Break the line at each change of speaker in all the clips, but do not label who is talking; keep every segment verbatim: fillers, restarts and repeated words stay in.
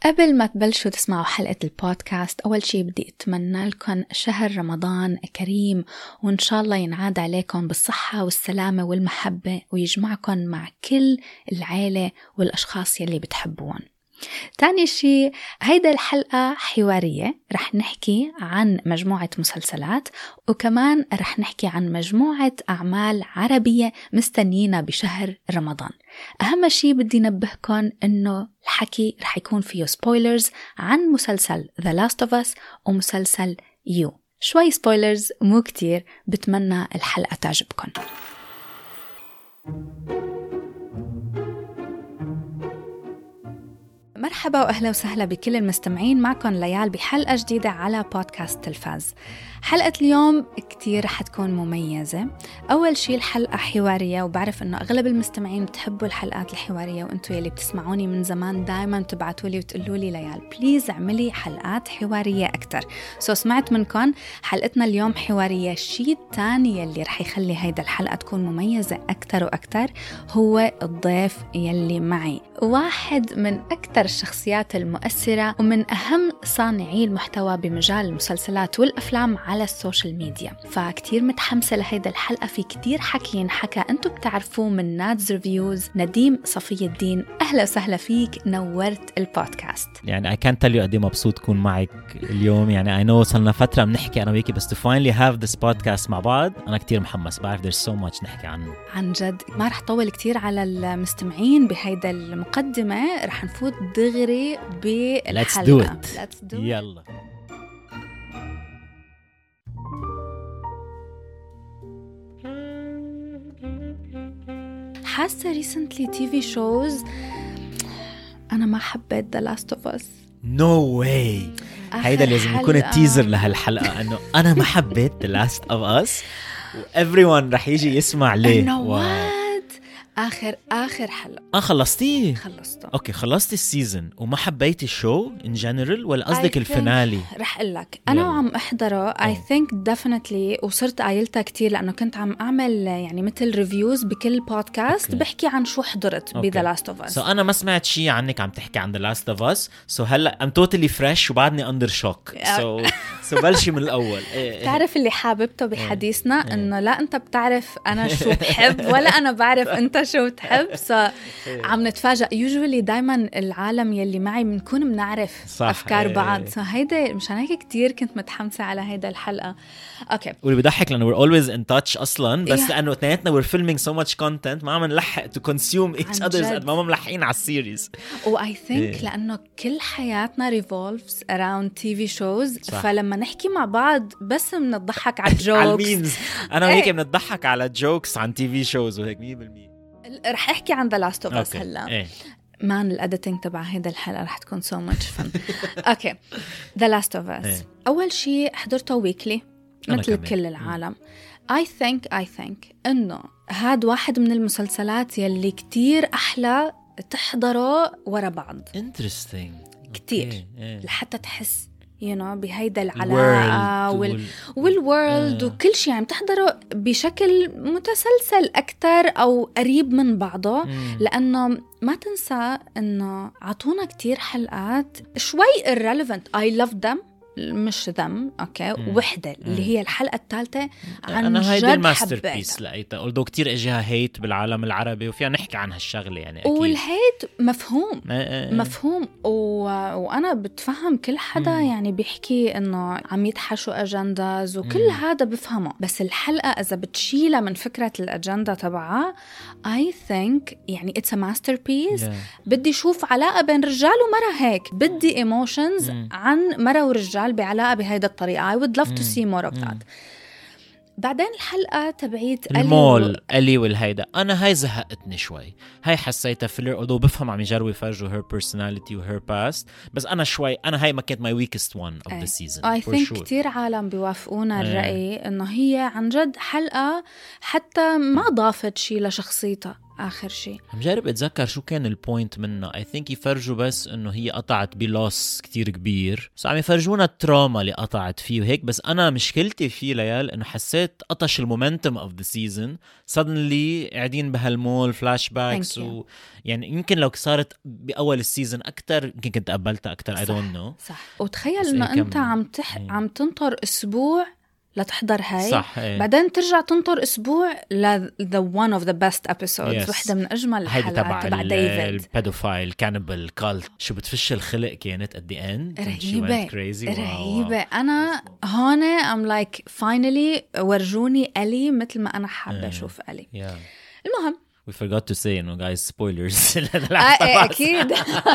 قبل ما تبلشوا تسمعوا حلقة البودكاست، أول شي بدي أتمنى لكم شهر رمضان كريم، وإن شاء الله ينعاد عليكم بالصحة والسلامة والمحبة، ويجمعكم مع كل العائلة والأشخاص يلي بتحبون. تاني شي، هيدا الحلقة حوارية، رح نحكي عن مجموعة مسلسلات، وكمان رح نحكي عن مجموعة أعمال عربية مستنينا بشهر رمضان. أهم شي بدي نبهكم إنه الحكي رح يكون فيه سبويلرز عن مسلسل The Last of Us ومسلسل You. شوي سبويلرز مو كتير، بتمنى الحلقة تعجبكم. مرحبا وأهلا وسهلا بكل المستمعين، معكم ليال بحلقة جديدة على بودكاست تلفاز. حلقة اليوم كتير رح تكون مميزة. أول شي الحلقة حوارية، وبعرف أنه أغلب المستمعين بتحبوا الحلقات الحوارية، وأنتوا يلي بتسمعوني من زمان دايما تبعتولي وتقولولي ليال بليز اعملي حلقات حوارية أكتر. سو سمعت منكم، حلقتنا اليوم حوارية. الشي الثاني يلي رح يخلي هيدا الحلقة تكون مميزة أكتر وأكتر هو الضيف يلي معي، واحد من أكتر الشخصيات المؤثرة ومن أهم صانعي المحتوى بمجال المسلسلات والأفلام على السوشيال ميديا. فكتير متحمسة لهيدا الحلقة، في كتير حكي ينحكى أنتوا بتعرفوه من نادز ريفيوز. نديم صفي الدين، أهلا وسهلا فيك، نورت البودكاست.
يعني I can't tell you قدي مبسوط كون معك اليوم. يعني I know صلنا فترة بنحكي أنا وياكي، بس to finally have this podcast مع بعض أنا كتير محمس. بعرف there's so much نحكي عنه.
عن جد ما رح طول كتير على المستمعين بهيدا المقدمة، رح نفوت دغري بالحلقة.
Let's do it.
Let's do it.
يلا.
حاسة recently تي في shows أنا ما حبيت The Last of Us.
No way. هيدا لازم يكون التيزر لهالحلقة، أنه أنا ما حبيت The Last of Us و everyone رح يجي يسمع ليه.
آخر آخر حلقة.
آه خلصتيه؟
خلصته.
أوكي، خلصت السيزن وما حبيت الشو in general ولا قصدك الفينالي؟
رح أقولك أنا
يلا.
وعم أحضره I think definitely، وصرت قايلتها كتير لأنه كنت عم أعمل يعني مثل ريفيوز بكل بودكاست بحكي عن شو حضرت ب The Last of Us.
so أنا ما سمعت شيء عنك عم تحكي عن The Last of Us. so هلأ I'm totally fresh وبعدني under shock. so so بلشي من الأول.
تعرف اللي حاببته بحديثنا إنه لا أنت بتعرف أنا شو بحب ولا أنا بعرف أنت شو بتحب. so عم نتفاجأ usually دايما العالم يلي معي بنكون بنعرف
صح.
أفكار بعض. so هيدا مشان هيك كتير كنت متحمسة على هيدا الحلقة. أوكي،
واللي بضحك لأنه we're always in touch أصلاً، بس
yeah.
لأنه اثنيناتنا we're filming so much content ما عم نلحق to consume each other's قد ما ملحقين على السيريز.
و I think لأنه كل حياتنا revolves around تي في shows. صح. فلما نحكي مع بعض بس بنضحك على الجوكس
على الميمز. أنا وهيك بنضحك على جوكس عن تي في shows وهيك مية بالمية.
رح أحكي عن The Last of Us هلا.
إيه.
مان الأديتنج تبع هيدا الحلقة رح تكون so much fun. أوكي، The Last of Us.
إيه.
أول شيء حضرته ويكلي مثل كل العالم. I think I think إنه هاد واحد من المسلسلات يلي كتير أحلى تحضره ورا بعض.
Interesting.
كتير.
okay. إيه.
لحتى تحس you know بهيدا العلاقة وال والworld وكل شيء يعني تحضره بشكل متسلسل أكتر أو قريب من بعضه.
مم.
لأنه ما تنسى إنه عطونا كتير حلقات شوي irrelevant. I love them مش ذم أوكي.
مم.
وحدة
مم.
اللي هي الحلقة الثالثة عن
أنا هيدا
جد
الماستر بيس
حبيتها.
لقيتها although كتير إجيها هيت بالعالم العربي وفيها نحكي عن هالشغلة يعني أكيد.
والهيت مفهوم
آه آه.
مفهوم و... وأنا بتفهم كل حدا
مم.
يعني بيحكي إنه عم يتحشوا أجنداز وكل
مم.
هذا بفهمه. بس الحلقة إذا بتشيلها من فكرة الأجندة تبعها I think يعني it's a masterpiece.
yeah.
بدي شوف علاقة بين رجال ومرأة هيك، بدي emotions
مم.
عن مرأة ورجال بعلاقة بهيدا الطريقة. I would love to see more of that. بعدين الحلقة تبعيت
المول ألي والهيدا أنا هاي زهقتني شوي. هاي حسيتها فيلر although بفهم عم يجربوا يفرجوا her personality و her past، بس أنا شوي أنا هاي ما كانت my weakest one of
أي.
the season.
I think
sure.
كتير عالم بيوافقونا الرأي إنه هي عن جد حلقة حتى ما ضافت شي لشخصيتها. آخر شيء.
عم جارب أتذكر شو كان البوينت منه. I think يفرجوا بس إنه هي قطعت بلوس كتير كبير، بس عم يفرجونا التراما اللي قطعت فيه وهيك. بس أنا مشكلتي فيه ليال إنه حسيت قطش المومنتم of the season. suddenly قاعدين بهالمول فلاش باكس و... يعني يمكن لو صارت بأول السيزن أكتر يمكن كنت قبلتها أكتر. I don't know.
صح. وتخيل إنه أنت عم تح... عم تنطر أسبوع لتحضر هاي،
صح. ايه.
بعدين ترجع تنطر أسبوع ل the one of the best episodes. yes. واحدة من أجمل الحلقات تبع ديفيد.
البيدوفايل كانبل كالت شو بتفش الخلق كانت at the end.
رهيبة رهيبة. أنا هون I'm like finally ورجوني ألي مثل ما أنا حابة أشوف ألي.
yeah.
المهم
we forgot to say إنه guys spoilers.
آه أكيد.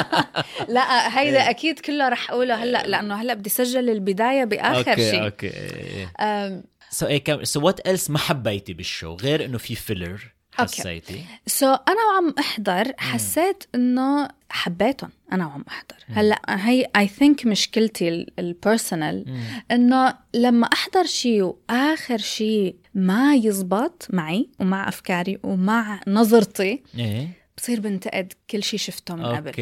لا هيدا أكيد كله رح أقوله هلأ لأنه هلأ بدي سجل البداية بآخر شيء.
أوكي أوكي. so إيه so what else ما حبيتي بالشو غير إنه في filler حسيتي؟
so أنا وعم أحضر حسيت إنه حبيتهم. أنا وعم أحضر هلأ هي I think مشكلتي البيرسونال إنه لما أحضر شيء وآخر شيء ما يزبط معي ومع أفكاري ومع نظرتي
إيه؟
بصير بنتقد كل شيء شفته من قبل.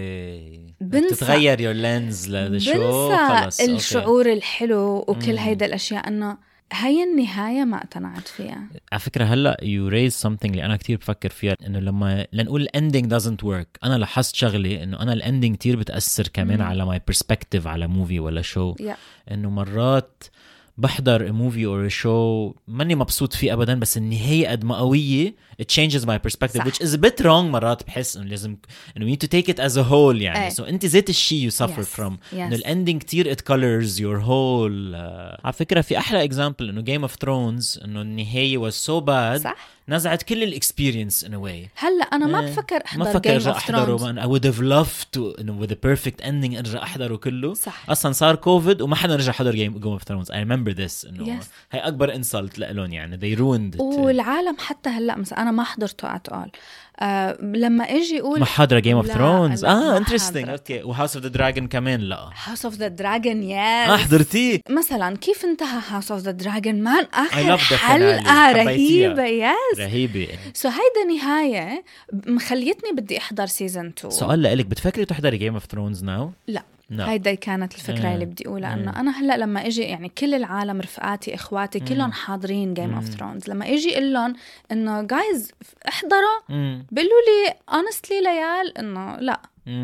أوكي.
بنسى
تتغير your lens للشو. خلص.
الشعور
أوكي.
الحلو وكل هيدا الأشياء إنه هاي النهاية ما اقتنعت فيها.
على فكرة هلأ you raise something اللي أنا كتير بفكر فيها إنه لما لنقول ending doesn't work أنا لاحظت شغلي إنه أنا الending كتير بتأثر كمان مم. على my perspective على movie ولا show.
yeah.
إنه مرات بحضر a movie or a show ماني مبسوط فيه أبداً بس النهاية قد ما قوية it changes my perspective. صح. which is a bit wrong. مرات بحس إنه لازم إنه you need to take it as a whole يعني. so أنت ذات الشيء you suffer yes. from.
yes.
إنه الending كتير it colors your whole. uh, على فكرة في أحلى example إنه Game of Thrones إنه النهاية was so bad.
صح.
نزعت كل الاكسبيرينس in a way.
هلا أنا ما بفكر أحضر
ما بفكر
Game of Thrones.
I would have loved to إنه with the perfect ending أرجع أحضره كله.
صح.
أصلاً صار كوفيد وما حدا رجع حضر Game Game of Thrones. I remember this إنه
yes.
هاي أكبر insult لإلهم يعني they ruined it.
والعالم حتى هلا مثلا أنا ما حضرته at all. آه لما اجي اقول
ما حضر Game of Thrones. اه interesting.
اوكي.
و House of the Dragon كمان لا.
House of the Dragon yes.
اه حضرتيه
مثلا كيف انتهى House of the Dragon مان اخر حلقة رهيبة يس
رهيبة.
سو so هيدا نهاية مخليتني بدي احضر سيزن تو.
سؤال لك بتفكري تحضري Game of Thrones now؟
لا
no.
هيدا كانت الفكرة
mm.
اللي بدي أقولها.
mm.
أنه أنا هلأ لما إجي يعني كل العالم رفقاتي إخواتي mm. كلهم حاضرين Game mm. of Thrones لما إجي إلهم إنه guys احضروا mm. بيقولوا لي honestly ليال إنه لا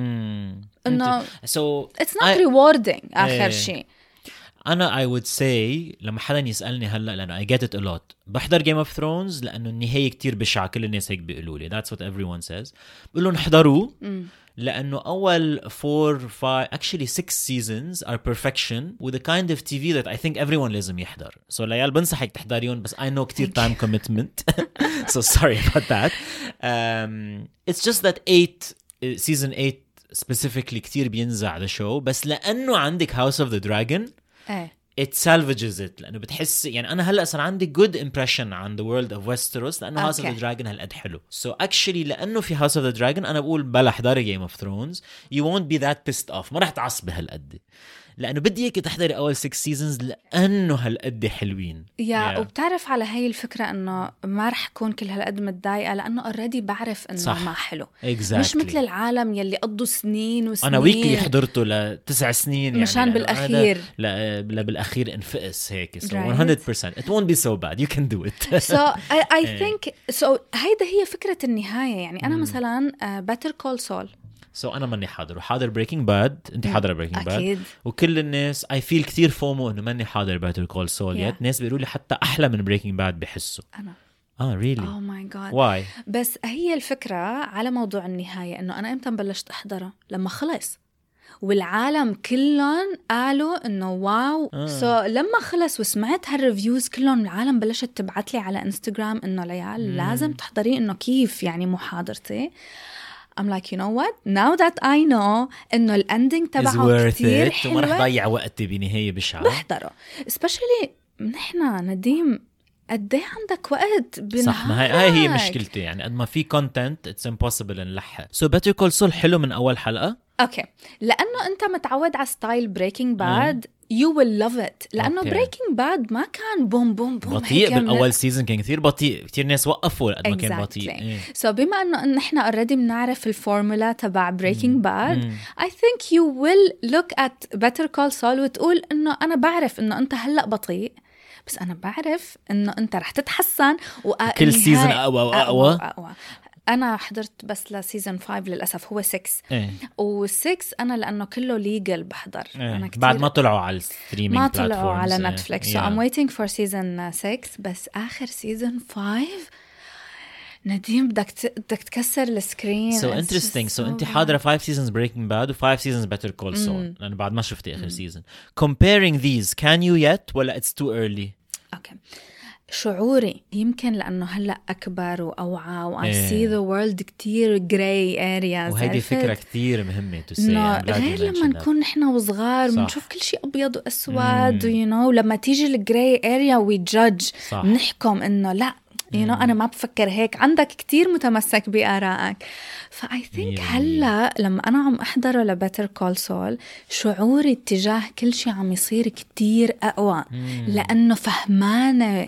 mm.
إنه
so
it's not I... rewarding آخر شيء.
أنا I would say لما حدا يسألني هلأ لأنه I get it a lot بحضر Game of Thrones لأنه النهاية كتير بشعة كل الناس هيك بيقولوا لي that's what everyone says. بقولوا نحضروه mm. لأنه أول four, five, actually six seasons are perfection with the kind of T V that I think everyone لازم يحضر. So ليال بنصحك تحضريون بس I know كتير time commitment. So sorry about that. Um, it's just that eight, season eight specifically كتير بينزع the show بس لأنه عندك House of the Dragon it salvages it لأنه بتحس يعني أنا هلأ صار عندي good impression عن the world of Westeros لأنه okay. House of the Dragon هالقد حلو. So actually لأنه في House of the Dragon أنا بقول بلا حضاري Game of Thrones you won't be that pissed off. ما رح تعصبي هالقد لأنه بدي إياك تحضري أول six seasons لأنه هالقد حلوين.
يا yeah. وبتعرف على هاي الفكرة إنه ما رح كون كل هالقد متضايقة لأنه already بعرف إنه صح. ما حلو.
exactly.
مش مثل العالم يلي قضوا سنين وسنين.
أنا ويكلي حضرته لتسع سنين يعني
مشان بالأخير.
لا لا بالأخير انفقس هيك. So right. one hundred percent it won't be so bad you can do it.
So I, I think so هيدا هي فكرة النهاية يعني أنا mm. مثلا uh, Better Call Saul.
So أنا ماني حاضر وحاضر Breaking Bad. أنت حاضرة Breaking Bad
أكيد.
وكل الناس I feel كتير فومو إنه ماني حاضر Better Call Saul yeah. يت ناس بيقولوا لي حتى أحلى من Breaking Bad بحسه.
أنا
آه really
oh my god
why
بس هي الفكرة على موضوع النهاية إنه أنا إمتى بلشت أحضره لما خلص والعالم كلهم قالوا إنه واو آه. so لما خلص وسمعت هالريفيوز كلهم العالم بلشت تبعت لي على إنستغرام إنه ليال mm. لازم تحضري إنه كيف يعني محاضرتي. I'm like you know what now that I know إنه الأندينج تبعه كتير حلوة
وما رح ضيع وقتي بنهاية بشعة
بحضره especially نحنا نديم قد ايه عندك وقت بنهارك.
صح ما هاي, هاي هي مشكلتي يعني قد ما في content it's impossible نلحق. So Better Call Saul حلو من أول حلقة
أوكي لأنه أنت متعود على ستايل Breaking Bad you will love it لأنه
Okay.
Breaking Bad ما كان بوم بوم بوم
بطيء بالأول سيزن كان كثير بطيء كثير ناس وقفوا قد ما كان
exactly.
بطيء إيه.
so بما أنه نحن already بنعرف الفورمولا تبع Breaking Bad
mm.
I think you will look at Better Call Saul وتقول أنه أنا بعرف أنه أنت هلأ بطيء بس أنا بعرف أنه أنت رح تتحسن
كل سيزن أقوى وأقوى
أقوى. أنا حضرت بس لسيزن فايف للأسف هو ستة
إيه.
والسكس أنا لأنه كله ليجل بحضر
إيه.
أنا كتير
بعد ما طلعوا على الستريمينج
ما
بلاتفورمز
طلعوا على
إيه.
نتفليكس
yeah.
so I'm waiting for season six بس آخر season five نديم بدك ت... بدك تكسر السكرين
so interesting so, so أنت حاضرة five seasons Breaking Bad و five seasons Better Call Saul لأن بعد ما شفتي آخر season comparing these can you yet ولا it's too early
okay. شعوري يمكن لأنه هلأ أكبر وأوعى و I
إيه.
see the world كتير gray areas
وهيدي فكرة كتير مهمة to say
غير لما نكون نحن وصغار بنشوف كل شيء أبيض وأسود you know لما تيجي الجراي area we judge نحكم إنه لا you know أنا ما بفكر هيك عندك كتير متمسك بآرائك ف I think هلا لما أنا عم أحضره لبتر كول سول شعوري اتجاه كل شيء عم يصير كتير أقوى لأنه فهمانة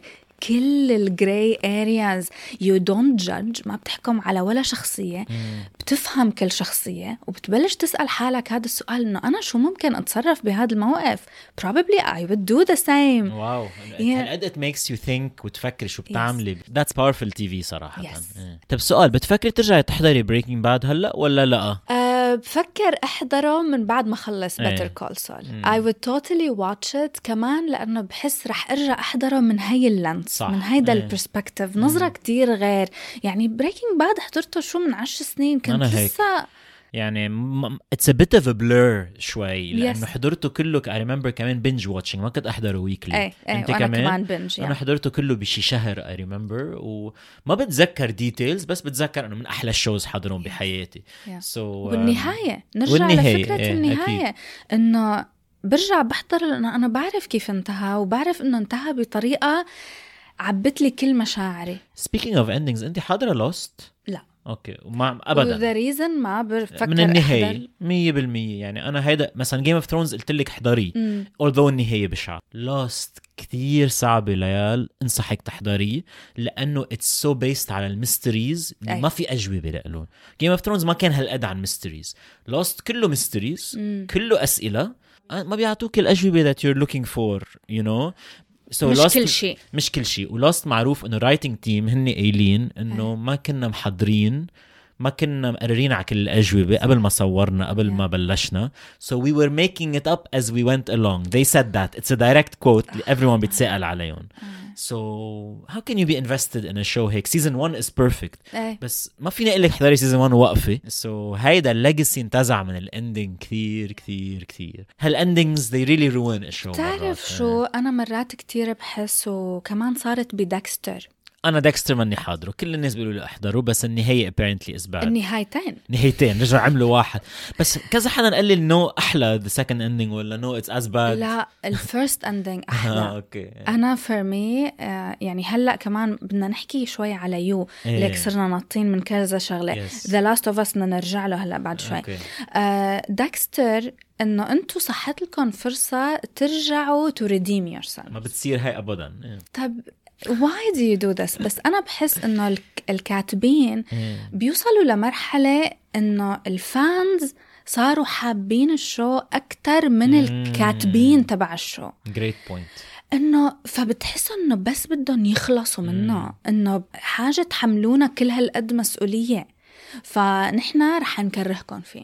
كل الجراي areas you don't judge ما بتحكم على ولا شخصية بتفهم كل شخصية وبتبلش تسأل حالك هذا السؤال إنه أنا شو ممكن أتصرف بهذا الموقف probably I would do the same
واو
Yeah.
هالقد it makes you think وتفكر شو بتعملي yes. that's powerful تي في صراحة
yes.
طب سؤال بتفكري ترجعي تحضري Breaking Bad هلأ ولا لا؟
أه بفكر أحضره من بعد ما خلص
ايه.
Better Call Saul I would totally watch it كمان لأنه بحس رح أرجع أحضره من هاي اللانس من هيدا
ايه.
البرسبكتيف نظرة كتير غير يعني Breaking Bad حضرته شو من عشر سنين كنت لسه
يعني م- it's a bit of a blur شوي لأنه
yes.
حضرته كله I remember كمان binge watching ما كنت أحضره weekly
ايه. ايه.
أنت
وأنا
كمان,
كمان binge
أنا
يعني.
حضرته كله بشي شهر I remember وما بتذكر details بس بتذكر أنه من أحلى الشوز حضرهم بحياتي
yeah.
so,
والنهاية نرجع
والنهاية.
لفكرة
ايه.
النهاية
أكيد.
إنه برجع بحضر لأنه أنا بعرف كيف انتهى وبعرف إنه انتهى بطريقة عبت لي كل مشاعري
speaking of endings أنت حضرة Lost؟
لا
اوكي وما ابدا
وذا ريزن ما بفكر
من النهايه مية بالمية يعني انا هيدا مثلا جيم اوف ثرونز قلت لك احضريه although النهايه بشعه Lost كتير صعبه ليال انصحك تحضريه لانه اتس سو بيست على الميستريز ما في اجوبه لهم جيم اوف ثرونز ما كان هالقد عن ميستريز Lost كله ميستريز كله اسئله ما بيعطوك الاجوبه that you're looking for you know So
مش
Lost
كل شيء
مش كل شيء ولاست معروف انه رايتنج تيم هن قايلين انه ما كنا محضرين ما كنا مقررين على كل الأجوبة قبل ما صورنا قبل yeah. ما بلشنا so we were making it up as we went along they said that it's a direct quote everyone بيتسأل عليهم so how can you be invested in a show هيك season one is perfect بس ما فيني أقول لك حضري season one وقفة so هيدا الليجاسي انتزع من الاندينج كثير كثير كثير هالاندينجز they really ruin a show
تعرف شو أنا مرات كتير بحس وكمان صارت بدكستر
أنا ديكستر ماني حاضره كل الناس بيقولوا لي أحضره بس النهاية apparently is bad
النهايتين
نهايتين رجعوا عملوا واحد بس كذا حدا قال لي نو أحلى the second ending ولا نو it's as bad
لا الفيرست ending أحلى أوكي أنا for me يعني هلأ كمان بدنا نحكي شوي على يو ليك صرنا ناطين من كذا شغلة yes. The Last of Us بدنا نرجع له هلأ بعد شوي ديكستر إنه أنتوا صحت لكم فرصة ترجعوا to redeem yourself
ما بتصير هاي أبدا
طب why do you do this بس أنا بحس إنه الكاتبين بيوصلوا لمرحلة إنه الفانز صاروا حابين الشو أكتر من الكاتبين تبع الشو
great point
إنه فبتحسوا إنه بس بدهم يخلصوا منه إنه حاجة تحملونا كل هالقد مسؤولية فنحنا رح نكرهكم فيه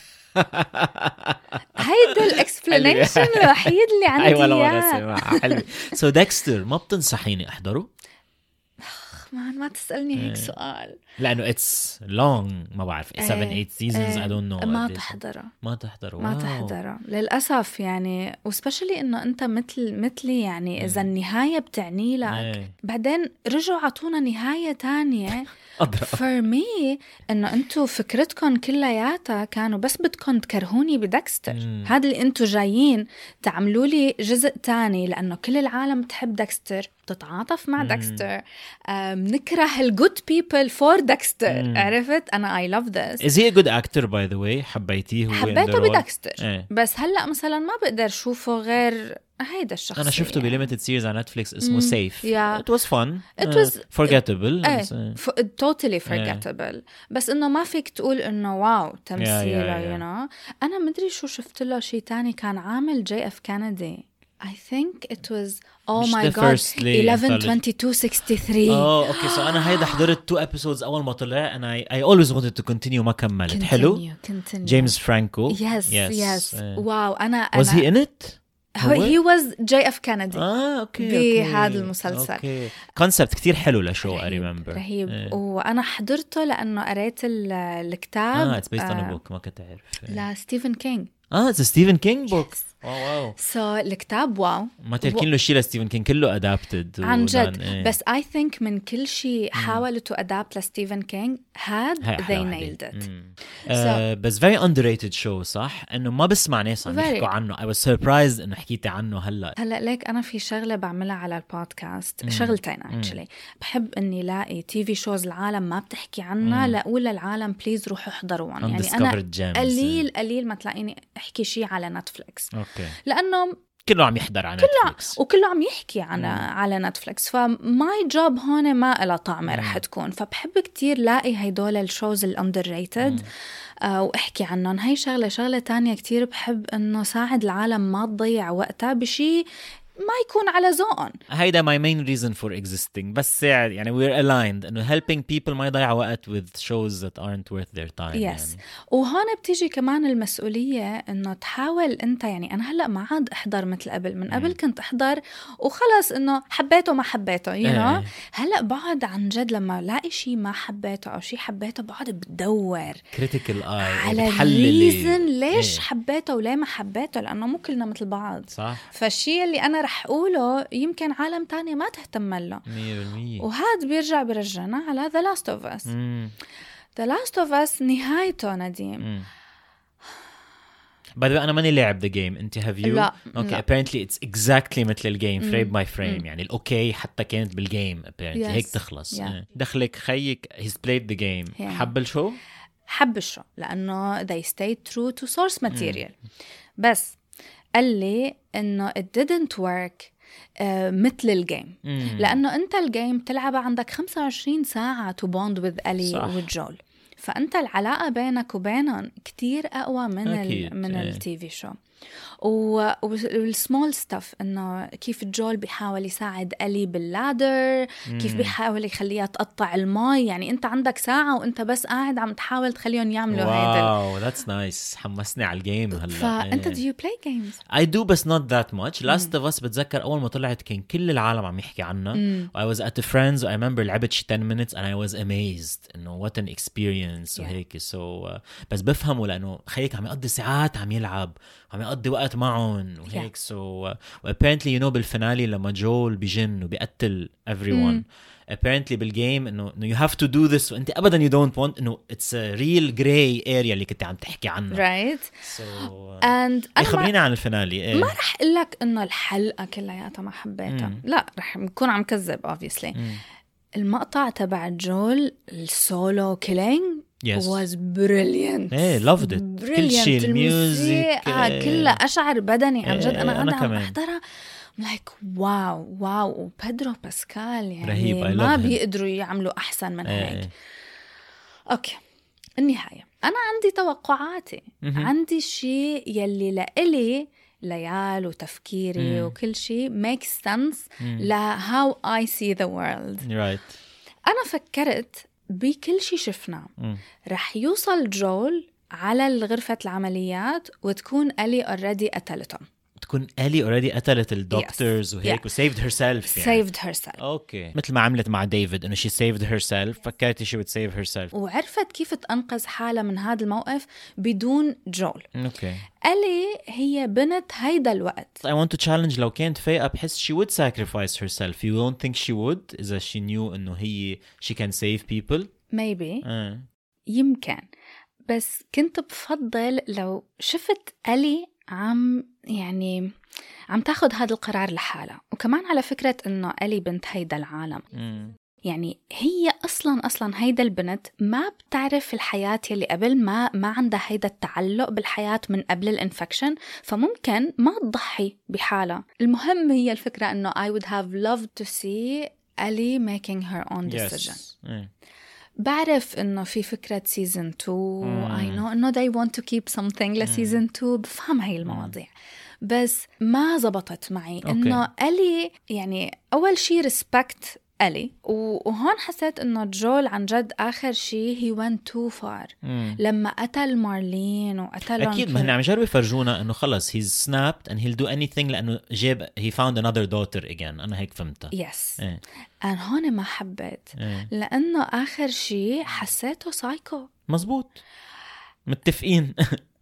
هيدا الاكسبلانيشن الوحيد اللي عندي
ايوه اياه حلو سو ديكستر ما بتنصحيني احضره
ما ما تسالني هيك سؤال
لانه اتس لونج ما بعرف سبعة ثمانية سيزونز اي دونت نو
ما تحضره
ما تحضره
ما تحضره للاسف يعني وسبيشلي انه انت مثل مثلي يعني اذا النهايه بتعني لك بعدين رجعوا عطونا نهايه تانية for me انه انتو فكرتكم كلياتها كانوا بس بدكم تكرهوني بدكستر هذا اللي انتو جايين تعملوا لي جزء تاني لانه كل العالم بتحب دكستر بتتعاطف مع ديكستر. نكره الجود بيبل فور ديكستر. عرفت أنا I love this.
Is he a good actor by the way؟ حبيتيه هو؟
حبيته بديكستر.
ايه.
بس هلأ مثلا ما بقدر شوفه غير هيدا الشخص.
أنا شفته بليميتد سيريز على نتفليكس اسمه Safe.
yeah.
It was fun.
It was
uh, forgettable.
ايه. ف... totally forgettable. yeah. بس إنه ما فيك تقول إنه واو تمثيله. yeah, yeah, yeah. you know. أنا مدري شو شفت له شيء تاني كان عامل جي اف كندي. I think it was oh my god eleven twenty-two sixty-three.
oh okay so أنا هيدا حضرت two episodes أول ما طلع and I I always wanted to continue ما كملت. حلو. جيمس فرانكو.
yes yes, yes. Uh, واو أنا
was he in it؟
هو he was جي اف كندي.
اه اوكي
بهذا المسلسل.
اوكي كونسبت كتير حلو لشو I remember.
رهيب. ايه. وانا حضرته لانه قريت الكتاب.
اه it's based on a book ما كنت اعرف.
لا ستيفن كينج.
اه it's a Stephen King book. واو واو.
سو الكتاب واو.
ما تركين له شيء لستيفن كينج كله ادابتد.
عن جد. ايه. بس I think من كل شيء حاولوا to adapt لستيفن كينج had they nailed it.
uh, بس very underrated show صح انه ما بسمع ناس عم يحكوا عنه. I was surprised انه حكيتي عنه هلا.
هلا ليك انا في شغله بعملها على البودكاست. مم. شغلتين actually. بحب اني لاقي تي في شوز العالم ما بتحكي عنها لاقول للعالم بليز روحوا احضروهم. يعني انا قليل قليل ما تلاقيني احكي شيء على نتفليكس.
اوكي.
لأنه
كله عم يحضر على
كله
نتفليكس
وكله عم يحكي عن على نتفليكس. فماي جوب هون ما إلها طعمة رح تكون. فبحب كتير لاقي هيدول الشوز الأندر ريتد آه واحكي عنهم. هاي شغلة شغلة تانية كتير بحب إنه ساعد العالم ما تضيع وقتها بشي ما يكون على ذوقهم.
هيدا my main reason for existing. بس يعني we're aligned إنه helping people ما يضيعوا وقت with shows that aren't worth their time.
yes.
يعني.
وهون بتيجي كمان المسؤولية إنه تحاول أنت يعني أنا هلأ ما عاد أحضر مثل قبل. من قبل كنت أحضر وخلص إنه حبيته ما حبيته you know. هلأ بعد عن جد لما لاقي شيء ما حبيته أو شيء حبيته بعد بدور
critical eye
على reason ليش ايه. حبيته وليه ما حبيته لأنه مو كلنا مثل بعض.
صح.
فالشيء اللي أنا رح أقوله يمكن عالم تاني ما تهتم له.
مية بالمية.
وهذا بيرجع برجعنا على The Last of Us. مم. The Last of Us نهايته نديم.
بعد أنا ماني لاعب the game. أنت have you؟
لا.
okay لا. Apparently it's exactly مثل الجيم frame by frame. يعني الأوكي حتى كانت بالجيم apparently. yes. هيك تخلص. yeah. دخلك خيك he's played the game. yeah. حب الشو؟
حب الشو لأنه they stayed true to source material. بس قال لي إنه it didn't work uh, مثل الجيم. مم. لأنه أنت الجيم تلعبها عندك خمسة وعشرين ساعة to bond with ألي وجول. فأنت العلاقة بينك وبينهم كتير أقوى من ال من التي في شو. والسمول ستاف إنه كيف جول بيحاول يساعد ألي باللادر. مم. كيف بيحاول يخليها تقطع الماء. يعني أنت عندك ساعة وأنت بس قاعد عم تحاول تخليهم يعملوا هيدا.
واو that's nice. حمسني على الجيم هلا.
فأنت do you play games؟
I do بس not that much. Last of Us بتذكر أول ما طلعت كان كل العالم عم يحكي عنها. I was at a friend's I remember لعبت شي ten minutes and I was amazed إنه what an experience. yeah. وهيك so uh, بس بفهمه لأنه خيك عم يقضي ساعات عم يلعب عم يقضي وقت معهم وهيك. yeah. so uh, apparently you know بالفنالي لما جول بيجن وبيقتل everyone. mm. apparently بالجيم إنه you have to do this وأنت أبدا you don't want إنه it's a real gray area اللي كنت عم تحكي عنها.
right.
so uh, and خبرينا عن الفنالي.
إيه؟ ما رح أقولك إنه الحلقة كلها ما حبيتها. mm. لا رح نكون عم كذب obviously. mm. المقطع تبع جول السولو كيلينج yes. was brilliant.
hey, loved it. brilliant. كل شيء الميوزك
آه كله أشعر بدني عن جد. أنا أنا عم أحضرها like واو واو. وبيدرو باسكال يعني
رهيب.
ما بيقدروا يعملوا أحسن من هيك. hey. أوكي النهاية أنا عندي توقعاتي. mm-hmm. عندي شيء يلي لإلي ليال وتفكيري mm. وكل شيء makes sense mm. ل how I see the world.
right.
أنا فكرت بكل شيء شفناه mm. رح يوصل جول على غرفة العمليات وتكون ألي already قتلتهم.
تكون ألي already قتلت الدكتورز yes. وهيك yeah. و saved herself
يعني. saved herself.
أوكي. مثل ما عملت مع ديفيد إنه she saved herself. فكرتي she would save herself.
وعرفت كيف تنقذ حالها من هذا الموقف بدون جول.
أوكي.
ألي هي بنت هيدا الوقت.
I want to challenge لو كانت فايقة بحس she would sacrifice herself. You don't think she would إذا she knew إنه هي she can save people.
maybe.
uh.
يمكن. بس كنت بفضل لو شفت ألي عم يعني عم تاخد هذا القرار لحالها. وكمان على فكرة إنه ألي بنت هيدا العالم
مم.
يعني هي أصلاً أصلاً هيدا البنت ما بتعرف الحياة يلي قبل، ما ما عندها هيدا التعلق بالحياة من قبل الانفكشن، فممكن ما تضحي بحالها. المهم هي الفكرة إنه I would have loved to see Ellie making her own decision.
Yes. mm.
بعرف إنه في فكرة season two
mm.
I know إنه they want to keep something ل season two، بفهم هاي المواضيع mm. بس ما زبطت معي. okay. إنه Ellie يعني أول شي respect ألي، وهون حسيت إنه جول عن جد آخر شيء he went too far
مم.
لما قتل مارلين وقتل
أكيد ما هن عم يجربوا يفرجونا إنه خلص he's snapped and he'll do anything لأنه جاب he found another daughter again. أنا هيك فهمتها.
yes
إيه.
أنا هون ما حبيت
إيه.
لأنه آخر شيء حسيته سايكو.
مزبوط متفقين.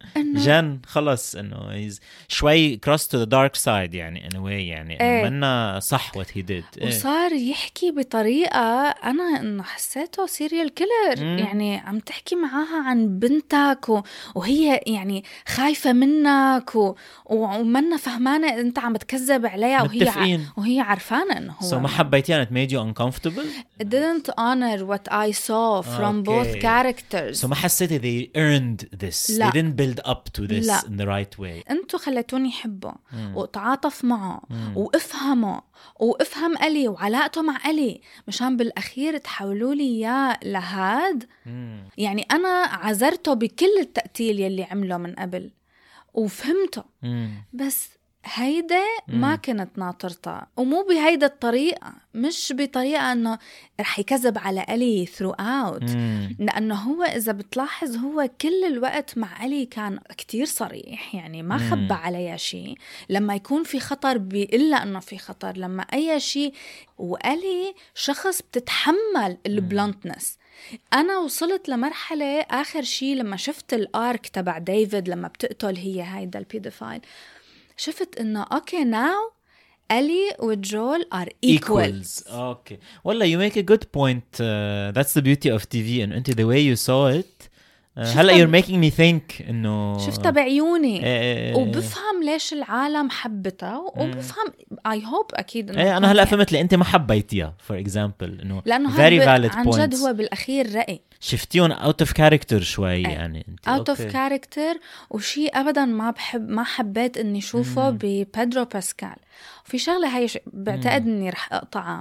جان خلص انه شوي cross to the dark side يعني in a way يعني
ايه.
منا صح what he did.
وصار ايه. يحكي بطريقة أنا إنه حسيته سيريال كيلر. يعني عم تحكي معاها عن بنتك و... وهي يعني خايفة منك و... ومنا فهمانة أنت عم بتكذب عليها وهي ع... وهي عارفانة إنه هو.
so ما حبيتي it made you uncomfortable.
It didn't honor what I saw from okay. both characters.
so ما حسيتي they earned this. لا. they didn't build up to this لا. in the right way.
انتو خليتوني حبه واتعاطف معه وافهمه وافهم ألي وعلاقته مع ألي مشان بالأخير تحولوا لي إياه لهاد. مم. يعني أنا عذرته بكل التقتيل يلي عمله من قبل وفهمته. مم. بس هيدا ما كنت ناطرتها، ومو بهيدا الطريقة، مش بطريقة أنه رح يكذب على ألي throughout. لأنه هو إذا بتلاحظ هو كل الوقت مع ألي كان كتير صريح، يعني ما خبى عليها شيء. لما يكون في خطر بيقلها أنه في خطر، لما أي شيء. وألي شخص بتتحمل البلانتنس. أنا وصلت لمرحلة آخر شيء لما شفت الآرك تبع ديفيد لما بتقتل هي هيدا البيدوفايل، شفت إنه أوكي ناو ألي وجول are equals.
Okay. والله you make a good point. Uh, that's the beauty of تي في. and the way you saw it. Uh, هلا you're making me think إنه
شفتها بعيوني. اه وبفهم ليش العالم حبتها وبفهم I hope أكيد
إنه أنا هلا فهمت لي أنت ما حبيتيها for example إنه
لأنه
very valid
عن جد هو بالأخير رأي
شفتيون out of character شوي. أي. يعني انت
out of character وشي أبدا ما بحب ما حبيت إني شوفه ببيدرو باسكال. وفي شغلة هاي بعتقد إني رح أقطعها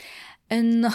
إنه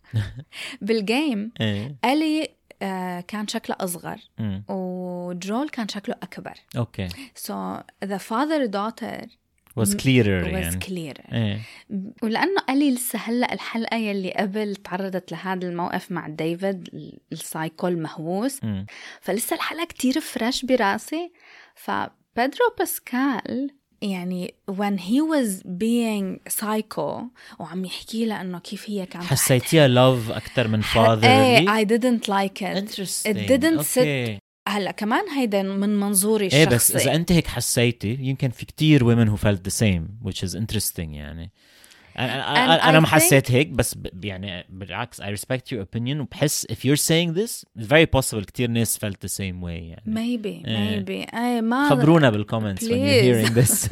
بالجيم ألي Uh, كان شكله أصغر mm. وجول كان شكله أكبر.
Okay.
So the father daughter
was clearer.
was
يعني.
clearer.
إيه.
ولأنه ألي لسه هلأ الحلقة يلي قبل تعرضت لهذا الموقف مع ديفيد السايكو المهووس mm. فلسه الحلقة كتير فريش براسي. فبيدرو باسكال يعني when he was being psycho وعم يحكي له إنه كيف هي كانت
حسيتيها love أكتر من father.
ايه I didn't like it.
Interesting.
It didn't
okay.
sit. هلا كمان هيدا من منظوري
الشخصي.
ايه
بس إذا أنت هيك حسيتي يمكن في كتير women who felt the same which is interesting يعني. أنا أنا ما حسيت هيك بس يعني بالعكس I respect your opinion وبحس if you're saying this it's very possible كتير ناس felt the same way يعني.
maybe maybe أي ما
خبرونا بالcomments when you're hearing this.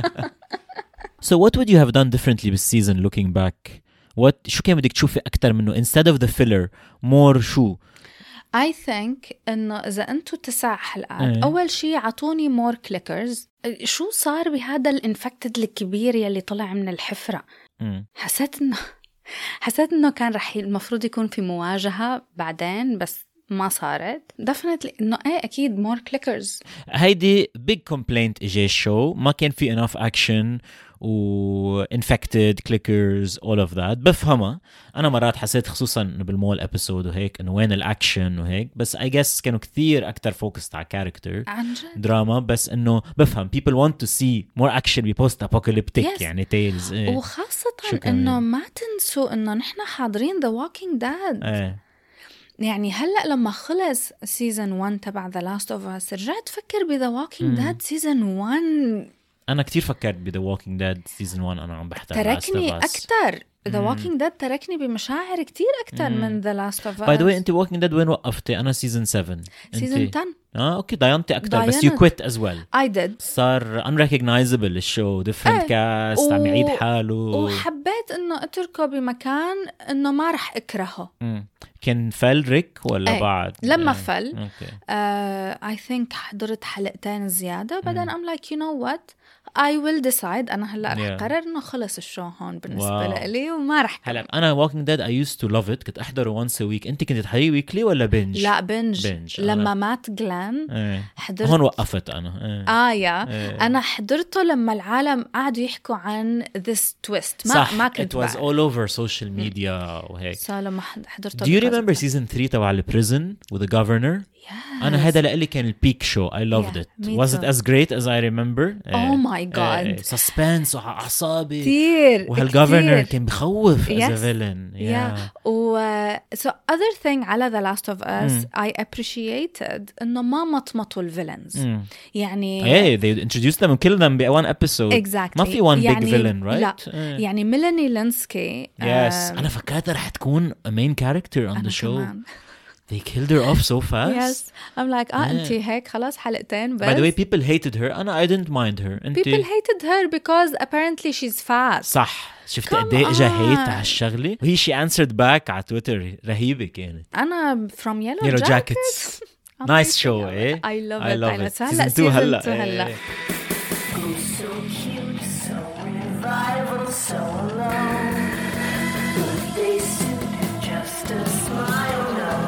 So what would you have done differently بالseason looking back? What شو كان بدك تشوفي أكتر منه instead of the filler more شو؟
I think إنه إذا أنتوا تسع حلقات أول شيء عطوني more clickers. شو صار بهذا الانفكتد الكبير يلي طلع من الحفرة؟ حسيت إنه حسيت إنه كان رح المفروض يكون في مواجهة بعدين بس ما صارت. definitely إنه إيه أكيد more clickers.
هيدي big complaint إجي الشو ما كان في enough action و infected clickers all of that. بفهمها أنا مرات حسيت خصوصا بالمول episode وهيك إنه وين الأكشن وهيك بس I guess كانوا كثير أكتر focused على character دراما. بس إنه بفهم people want to see more action be post apocalyptic yes. يعني tales إيه.
وخاصة إنه ما تنسوا إنه نحن حاضرين The Walking Dead
إيه.
يعني هلأ لما خلص season one تبع The Last of Us رجعت فكر ب The Walking Dead season one.
أنا كتير فكرت ب The Walking Dead season one. أنا عم بحتاج
تركني أكتر The Walking Dead تركني بمشاعر كتير أكتر
مم.
من The Last of Us.
By the way أنت Walking Dead وين وقفتي؟ أنا season seven.
season ten.
اه اوكي ضيانتي اكثر بس
ضيانت.
you quit as well.
I did.
صار unrecognizable الشو different
ايه.
cast عم يعيد
و...
حاله
وحبيت انه اتركه بمكان انه ما رح اكرهه.
مم. كان فل ريك ولا
ايه.
بعد؟
لما
ايه.
فل
اوكي
uh, I think حضرت حلقتين زيادة بعدين I'm like you know what I will decide. أنا هلأ رح
Yeah.
قرر إنه خلص الشو هون بالنسبة
Wow.
لي وما رح
هلا
كمل.
انا Walking Dead I used to love it كنت احضره once a week. انت كنت تحضريه ويكلي ولا بنج؟
لا بنج,
بنج.
لما
أنا...
مات جلان
ايه.
حضرت
هون وقفت انا ايه.
آه يا
ايه.
أنا حضرته لما العالم قعدوا يحكوا عن this twist ما
صح
ما كنت
it was
بعرف.
all over social media وهيك.
so لما حضرته
Do you
because
remember
of that.
season three تبع البريزن with the governor؟
Yes.
أنا هذا لقلي كان البيك شو. I loved
Yeah,
it.
me
Was
too.
it as great as I remember?
Oh my God.
suspense وأعصابي.
كتير
وهالجوفرنر
كتير.
كان بخوف as
Yes.
a villain. Yeah.
Yeah. و so other thing على The Last of Us mm. I appreciated إنه ما مطمطوا الفيلنز.
Mm.
يعني
Hey, they introduced them and killed them in one episode.
Exactly.
ما في one
يعني
big villain, right?
لا.
Mm.
يعني ميلاني لينسكي.
Yes.
um,
أنا فكرتها رح تكون a main character on
أنا
the show.
كمان.
They killed her off so fast.
Yes. I'm like آه
Yeah.
أنتي هيك خلاص حلقتين بس.
By the way, people hated her. أنا I didn't mind her. أنتي...
People hated her because apparently she's fast.
صح. شفت
Come
قد ايه اجى هيت
on.
على الشغله وهي شي answered back على تويتر رهيبه كانت.
أنا from Yellow,
Yellow
Jackets.
Jackets. Nice show, eh?
I love
I
it.
love
I love
it.
it. هلا
Season two هلا.
season two هلا.
eh.
So cute, so revival, so alone. Birthday suit, just a smile, no.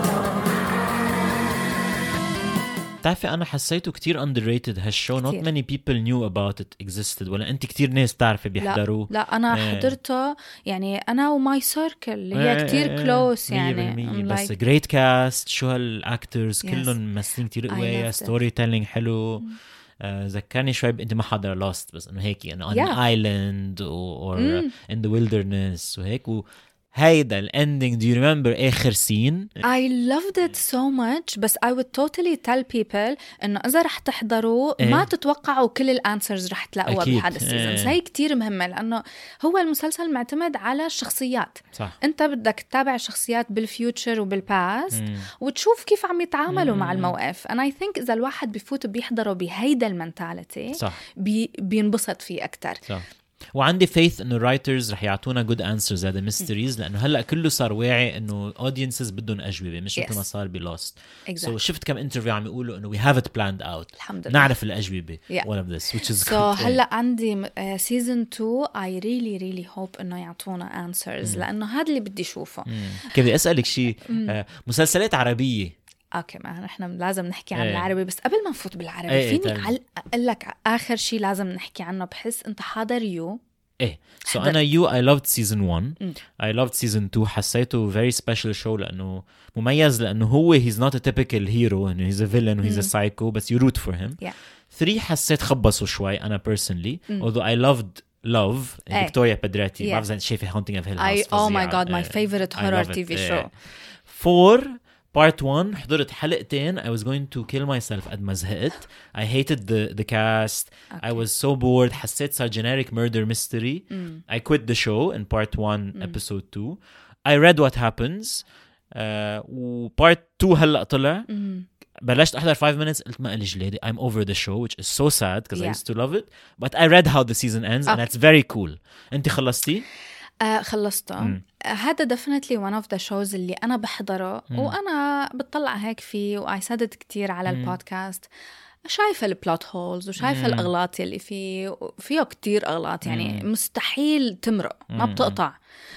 بتعرفي أنا حسيته كتير underrated هالشو. Not
كتير.
many people knew about it existed. ولا أنت كتير ناس تعرفي بيحضروه.
لا, لا أنا
إيه.
حضرته يعني أنا وماي سيركل اللي هي
إيه
كتير
إيه
كلوس
مية
يعني
بالمية.
I'm
بس
like
great cast. شو هالأكترز
Yes.
كلهم ممثلين كتير
I
قوية.
loved it.
story telling حلو. آه، ذكرني شوي ب- انت ما حضر Lost بس انه هيك انه on
Yeah.
an island or, or
Mm.
in the wilderness وهيك. وهيدا الاندينج. do you remember اخر سين؟
I loved it so much بس I would totally tell people إنه إذا رح تحضروا
إيه.
ما تتوقعوا كل الانسرز رح تلاقوها
أكيد.
بهذا السيزونز.
إيه.
هي كتير مهمة لأنه هو المسلسل معتمد على الشخصيات.
صح.
أنت بدك تتابع الشخصيات بالفيوتشر وبالباست
مم.
وتشوف كيف عم يتعاملوا مع
مم.
الموقف. and I think إذا الواحد بيفوت بيحضروا بهيدا المنتاليتي
صح
بي بينبسط فيه أكتر.
صح. وعندي faith انه الرايترز رح يعطونا good answers هذا mysteries لانه هلا كله صار واعي انه audiences بدهم اجوبه مش مثل
Yes.
ما صار بلوست.
Exactly.
so شفت كم انترفيو عم يقولوا انه we have it planned out.
الحمد لله.
نعرف الاجوبه.
Yeah.
all of this which is
so
good.
هلا عندي سيزون two I really really hope إنه يعطونا answers لأنه هذا اللي بدي أشوفه.
كيف بدي اسالك شيء. آه، مسلسلات عربيه.
اوكي ما نحن لازم نحكي عن
ايه.
العربي بس قبل ما نفوت بالعربي
ايه
فيني
تعال.
على اقول لك اخر شيء لازم نحكي عنه. بحس انت حاضر يو.
ايه so
حضرت.
انا you I loved season one.
م.
I loved season two. حسيته very special show لانه مميز لانه هو he's not a typical hero انه he's a villain و he's a psycho بس you root for him.
Yeah.
three حسيت خبصوا شوي انا personally
م.
although I loved love
ايه.
فيكتوريا بدراتي.
Yeah.
ما بعرف شايفه Haunting of Hill
I
House
oh my
فظيعة.
god my
إيه.
favorite
I
horror
love
تي
it.
في
إيه.
show.
four part one حضرت حلقتين. I was going to kill myself قد ما زهقت. I hated the the cast. I was so bored. حسيت صار generic murder mystery.
Mm.
I quit the show in part one mm. episode two. I read what happens. uh, و part two هلأ طلع.
Mm.
بلشت أحضر five minutes قلت ما قلي جلادي. I'm over the show which is so sad because
Yeah.
I used to love it. But I read how the season ends and
Okay.
it's very cool. أنت خلصتي؟
آه خلصته.
مم.
آه هذا definitely one of the shows اللي أنا بحضره
مم.
وأنا بتطلع هيك فيه وآي سادت كتير على
مم.
البودكاست. شايفة البلوت هولز وشايفة
مم.
الأغلاط اللي فيه. فيه كتير أغلاط يعني
مم.
مستحيل تمرق ما
مم.
بتقطع.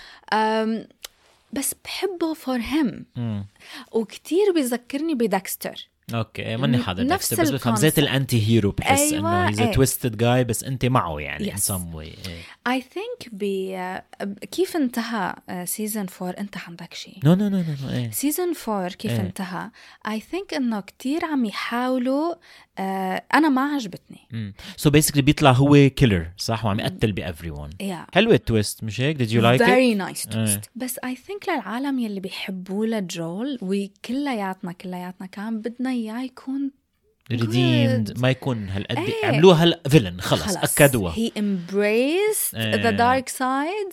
أم بس بحبه for him.
مم.
وكتير بيذكرني بدكستر.
اوكي ماني حاضر
نفس
بس بفهم زيت
الكونسبت.
الانتي هيرو بحس
أيوة،
انه he's a
إيه.
twisted guy بس انت معه يعني
Yes.
in some way. إيه.
I think ب... كيف انتهى سيزن فور انت عندك شيء.
no no no no no إيه.
سيزن فور كيف
إيه.
انتهى I think انه كتير عم يحاولوا. آه انا ما عجبتني.
مم. so basically بيطلع هو killer صح وعم يقتل ب everyone.
yeah.
حلوة التويست مش هيك؟ did you like
very
it؟
nice twist. بس I think للعالم يلي بيحبوا لجول وكلياتنا كلياتنا كان بدنا اياه يكون
redeemed ما يكون هالقد
إيه.
عملوها هلا فيلن خلص,
خلص
أكدوها.
he embraced
إيه.
the dark side.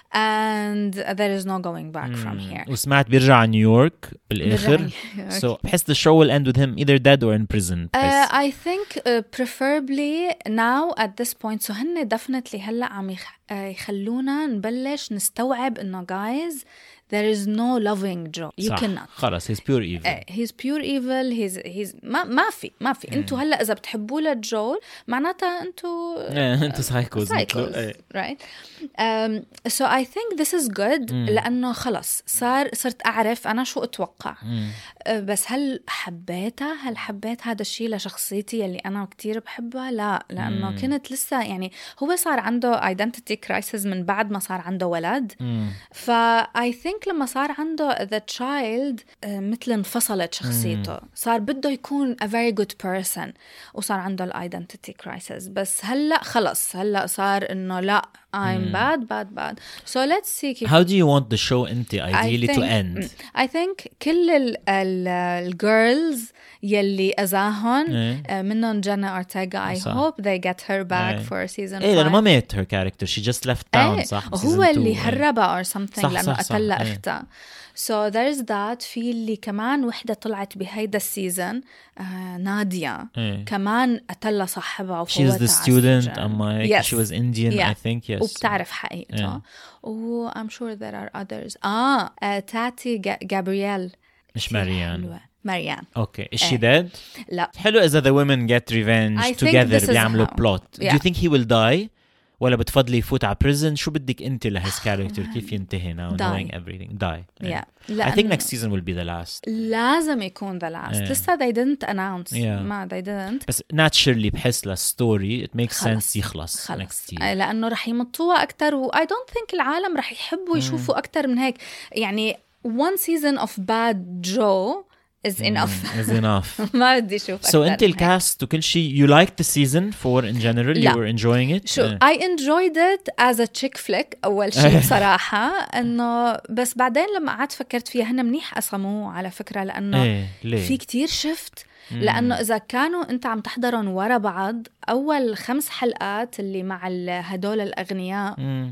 and there is no going back from here.
وسمعت بيرجع على نيويورك بالآخر.
بيرجع
So بحس the show will end with him either dead or in prison.
Uh, I think uh, preferably now at this point. So هن definitely هلأ عم يخ... uh, يخلونا نبلش نستوعب إنه guys there is no loving Joe. You
صح.
cannot.
خلاص he's pure evil.
Uh, he's pure evil. He's he's ما ما في ما في. أنتوا هلأ إذا بتحبوا لجول معناتها أنتوا
أنتوا psychos.
psychos, right? Um, so I think this is good لأنه خلاص صار صرت أعرف أنا شو أتوقع. uh, بس هل حبيتها؟ هل حبيت هذا الشيء لشخصيتي اللي أنا كتير بحبها؟ لا، لأنه
مم.
كنت لسه يعني هو صار عنده identity crisis من بعد ما صار عنده ولد. ف I think لما صار عنده the child uh, مثل انفصلت شخصيته. صار بده يكون a very good person وصار عنده ال identity crisis. بس هلأ خلص هلأ صار إنه لا I'm bad bad bad. So let's see كيف.
How do you want the show أنت ideally
I
to
think-
end?
I think كل ال ال الجيرلز يلي أذاهن
إيه.
uh, منهم جانا أورتيغا. I
صح.
hope they get her back
إيه.
for season
إيه لأنه ما
five.
مات her character. She just left town.
إيه.
صح.
هو
season
اللي
two.
هربها or something
صح،
لأنه
صح، صح.
قتل
إيه.
أختها. So there's that. في اللي كمان وحدة طلعت بهيدا السيزن uh, نادية
إيه.
كمان قتلها صاحبها
She's
وفوتها
the
على
student.
السجن.
I'm like
Yes.
she was Indian.
Yeah.
I think yes.
وبتعرف حقيقته.
إيه.
و I'm sure there are others. آه uh, تاتي جا- جابرييل
مش
كتير
ماريان.
حلوة. ماريان.
Okay. Is she
إيه.
dead?
لا.
حلو إذا the women get revenge
I think
together
this is
بيعملوا
how.
plot. Do
Yeah.
you think he will die? ولا بتفضلي يفوت على prison؟ شو بدك أنت لهis character كيف ينتهي now
Die.
knowing everything? Die.
Yeah.
I think
لأنه
next season will be the last.
لازم يكون the last.
إيه.
لسه they didn't announce.
Yeah.
ما they didn't.
بس naturally بحس للستوري it makes
خلص.
sense يخلص
خلص
next year.
آه، لأنه رح يمطوها أكتر و I don't think العالم رح يحبوا يشوفوا أكتر من هيك. يعني one season of bad Joe is enough.
Is enough.
ما بدي أشوف
So
أكتر
أنت
من هيك.
الكاست وكل شيء you liked the season four in general?
لا.
You were enjoying it?
شو
إيه.
I enjoyed it as a chick flick أول شيء بصراحة. إنه بس بعدين لما قعدت فكرت فيها هن منيح قسموه على فكرة لأنه
إيه ليه؟
في كتير شفت. لأنه إذا كانوا أنت عم تحضرهم ورا بعض أول خمس حلقات اللي مع ال- هدول الأغنياء
مم.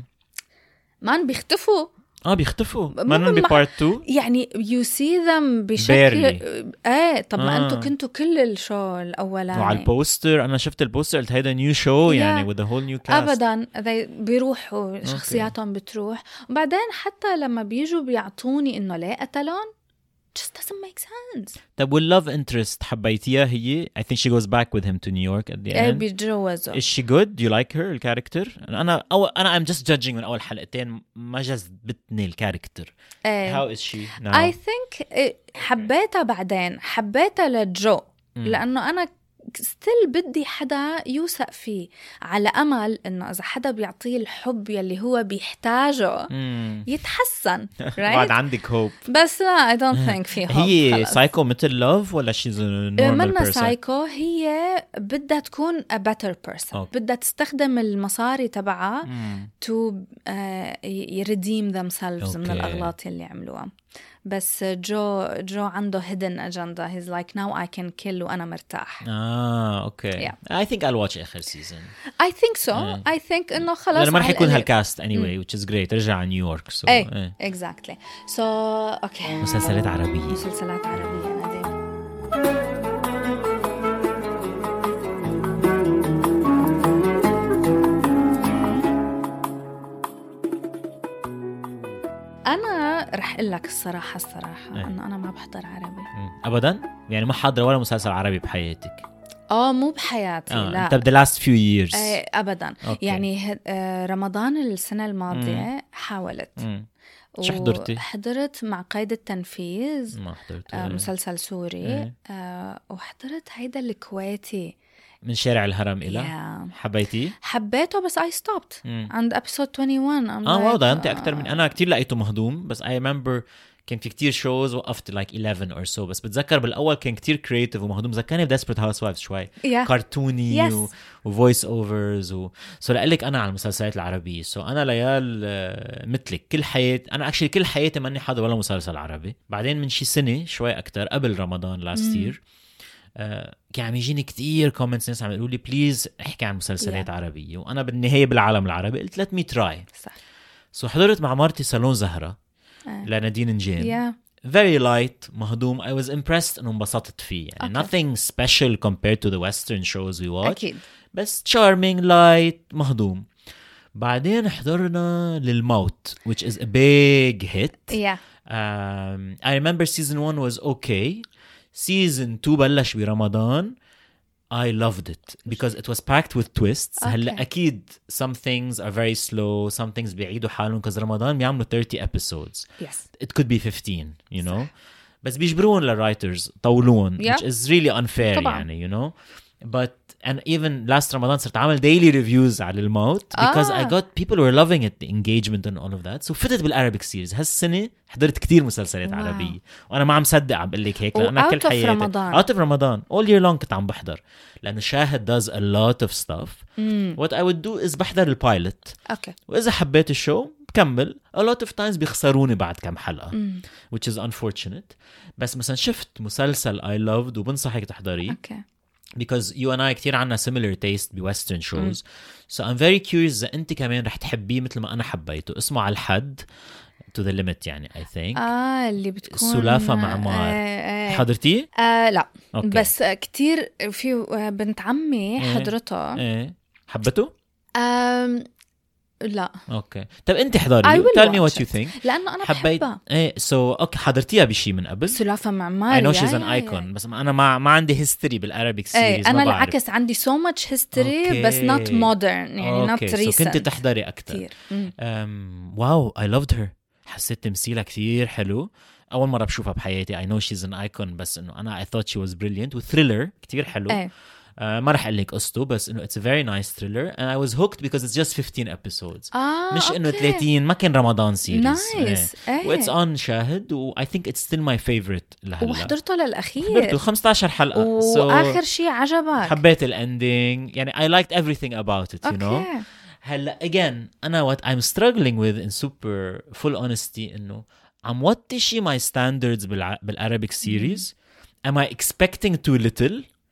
ما بيختفوا.
اه بيختفوا
مو
ما
بمع-
ببارت تو.
يعني you see them بشكل
Barely.
ايه. طب ما
آه.
انتوا كنتوا كل الشو الاولاني
وعلى البوستر انا شفت البوستر قلت هيدا نيو شو يعني with a whole new cast.
ابدا they بيروحوا شخصياتهم بتروح. وبعدين حتى لما بيجوا بيعطوني انه ليه قتلون just doesn't make sense.
طب واللوف انترست حبيتيها هي؟ I think she goes back with him to New York at the
ايه
end.
بيتجوزوا.
Is she good? Do you like her الكاركتر؟ أنا أو أنا I'm just judging من أول حلقتين ما جذبتني الكاركتر.
ايه.
How is she now?
I think إيه، حبيتها بعدين حبيتها لجو لأنه أنا ستيل بدي حدا يوثق فيه على أمل إنه إذا حدا بيعطيه الحب يلي هو بيحتاجه
مم.
يتحسن.
بعد
right?
عندك hope.
بس لا I don't think في hope.
هي
خلص.
سايكو مثل لوف ولا she's a normal
منا
person?
سايكو هي بدها تكون a better person.
أوكي.
بدها تستخدم المصاري تبعها
مم.
to uh, redeem themselves من
أوكي.
الأغلاط اللي عملوها. بس جو جو عنده hidden agenda. He's like now I can kill وأنا مرتاح.
آه أوكي.
Yeah.
I think I'll watch آخر season.
I think so.
إيه.
I think إنه خلاص
لأنه ما رح
على
يكون
القليل.
هالكاست anyway which is great. رجع على نيويورك. So
إيه
إيه.
exactly. So okay.
مسلسلات عربية.
مسلسلات عربية نادين. أنا رح أقول لك الصراحة الصراحة
إيه.
إنه أنا ما بحضر عربي.
مم. أبدا؟ يعني ما حاضرة ولا مسلسل عربي بحياتك؟
آه مو بحياتي
آه.
لا.
طب the last few years.
إيه أبدا.
أوكي.
يعني ه- آه، رمضان السنة الماضية حاولت.
مم. شو حضرتي؟
حضرت مع قيد التنفيذ.
ما حضرت.
آه مسلسل سوري.
إيه.
آه وحضرت هيدا الكويتي
من شارع الهرم إلى
yeah.
حبيتيه؟
حبيته بس I stopped
مم.
عند episode واحد وعشرين. I'm
اه
like,
واو ضيعتي أكتر من أنا كتير لقيته مهضوم بس I remember كان في كتير shows وقفت like eleven or so بس بتذكر بالأول كان كتير creative ومهضوم ذكرني ب Desperate Housewives شوي
Yeah.
كارتوني
Yes.
و... و voice overs و... so لقلك أنا على المسلسلات العربية so أنا ليال آه، مثلك كل حياتي أنا actually كل حياتي ماني حاضر ولا مسلسل عربي بعدين من شي سنة شوي أكتر قبل رمضان last year آه، كان عم يجيني كتير كومنتس ناس عم يقولوا لي بليز احكي عن مسلسلات
Yeah.
عربية وأنا بالنهاية بالعالم العربي قلت let me try
صح.
سو حضرت مع مرتي صالون زهرة
آه.
لنادين نجيم.
yeah.
very light مهضوم. I was impressed انه انبسطت فيه يعني
Okay.
nothing special compared to the western shows we watch
أكيد.
بس charming light مهضوم. بعدين حضرنا للموت which is a big hit.
yeah.
um, I remember season one was okay. season two بلش برمضان. I loved it because it was packed with twists.
Okay.
هلا أكيد some things are very slow, some things بيعيدوا حالهم because رمضان بيعملوا thirty episodes.
yes.
It could be fifteen, you know. بس بيجبرون للرايترز طولون
Yeah.
which is really unfair
طبعاً.
يعني you know. But and even last رمضان صرت عامل daily reviews على الموت because
آه.
I got people were loving it, the engagement and all of that. So فتت بالعربيك سيريز. هالسنة حضرت كتير مسلسلات
Wow.
عربية وأنا ما عم صدق عم بقول لك هيك لأن
و
كل
out of
حياتي
رمضان.
out of رمضان all year long كنت عم بحضر لأنه شاهد does a lot of stuff.
mm.
What I would do is بحضر البايلوت
okay.
وإذا حبيت الشو بكمل. A lot of times بيخسروني بعد كم حلقة
mm.
which is unfortunate. بس مثلا شفت مسلسل I loved وبنصحك تحضريه
okay.
because you and I كتير عنا similar taste ب western shows. so I'm very curious إذا أنت كمان رح تحبيه مثل ما أنا حبيته. اسمه على الحد to the limit يعني I think.
آه اللي بتكون
سلافة معمار.
آه آه.
حضرتيه؟
آه لا
أوكي.
بس كتير في بنت عمي حضرتها.
إيه حبته؟
آم لا
اوكي طب انت حضري
I will
tell me
watch
what you
it.
think.
لأنه أنا
حبيت
بحبها.
ايه سو so, اوكي حضرتيها بشي من قبل؟
سلافة معمار.
I know she's
يا
an
يا
icon
يا.
بس انا ما ما عندي history بالعربيك
ايه
series.
أنا
ما بعرف.
العكس عندي so much history
أوكي.
بس not modern يعني
اوكي
not
سو
recent.
كنت تحضري اكثر.
كتير. مم.
um, واو I loved her. حسيت تمثيلها كتير حلو. اول مره بشوفها بحياتي. I know she's an icon بس انه انا I thought she was brilliant. وثريلر كتير حلو.
ايه
uh, ما رح اقول لك قصته بس انه it's a very nice thriller and I was hooked because it's just fifteen episodes.
آه
مش انه
أوكي.
ثلاثين. ما كان رمضان سيريز.
نايس. ايه
واتس اون شاهد و I think it's still my favorite لهلا.
وحضرته للأخير.
حضرته خمسطعش حلقة.
وآخر
so
شيء عجبك.
حبيت الاندينج يعني I liked everything about it you know.
أوكي.
هلا again أنا what I'm struggling with in super full honesty إنه عم وطي my standards بالع... بالعربيك series. am I expecting too little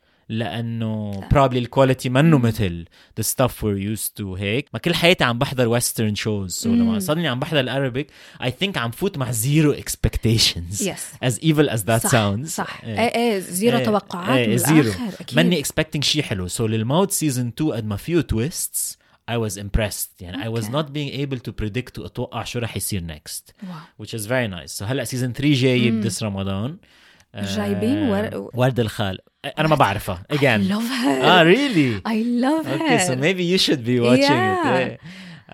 لأنه probably الكواليتي منه مثل the stuff we're used to هيك. ما كل حياتي عم بحضر western shows so لما صدني عم بحضر العربيك I think عم فوت مع zero expectations.
yes.
as evil as that
صح.
sounds.
صح.
إيه.
ايه ايه زيرو
إيه.
توقعات
إيه.
بالآخر.
زيرو.
أكيد.
ماني expecting شي حلو. so للموت season two قد ما فيه twists I was impressed يعني I was
Okay.
not being able to predict وأتوقع شو رح يصير next
واو.
which is very nice. so هلأ season three جاي بدس رمضان.
جايبين ور...
ورد الخال. أنا ما بعرفها
I
again.
love her.
ah really
I love her.
okay so maybe you should be watching
Yeah.
it. eh.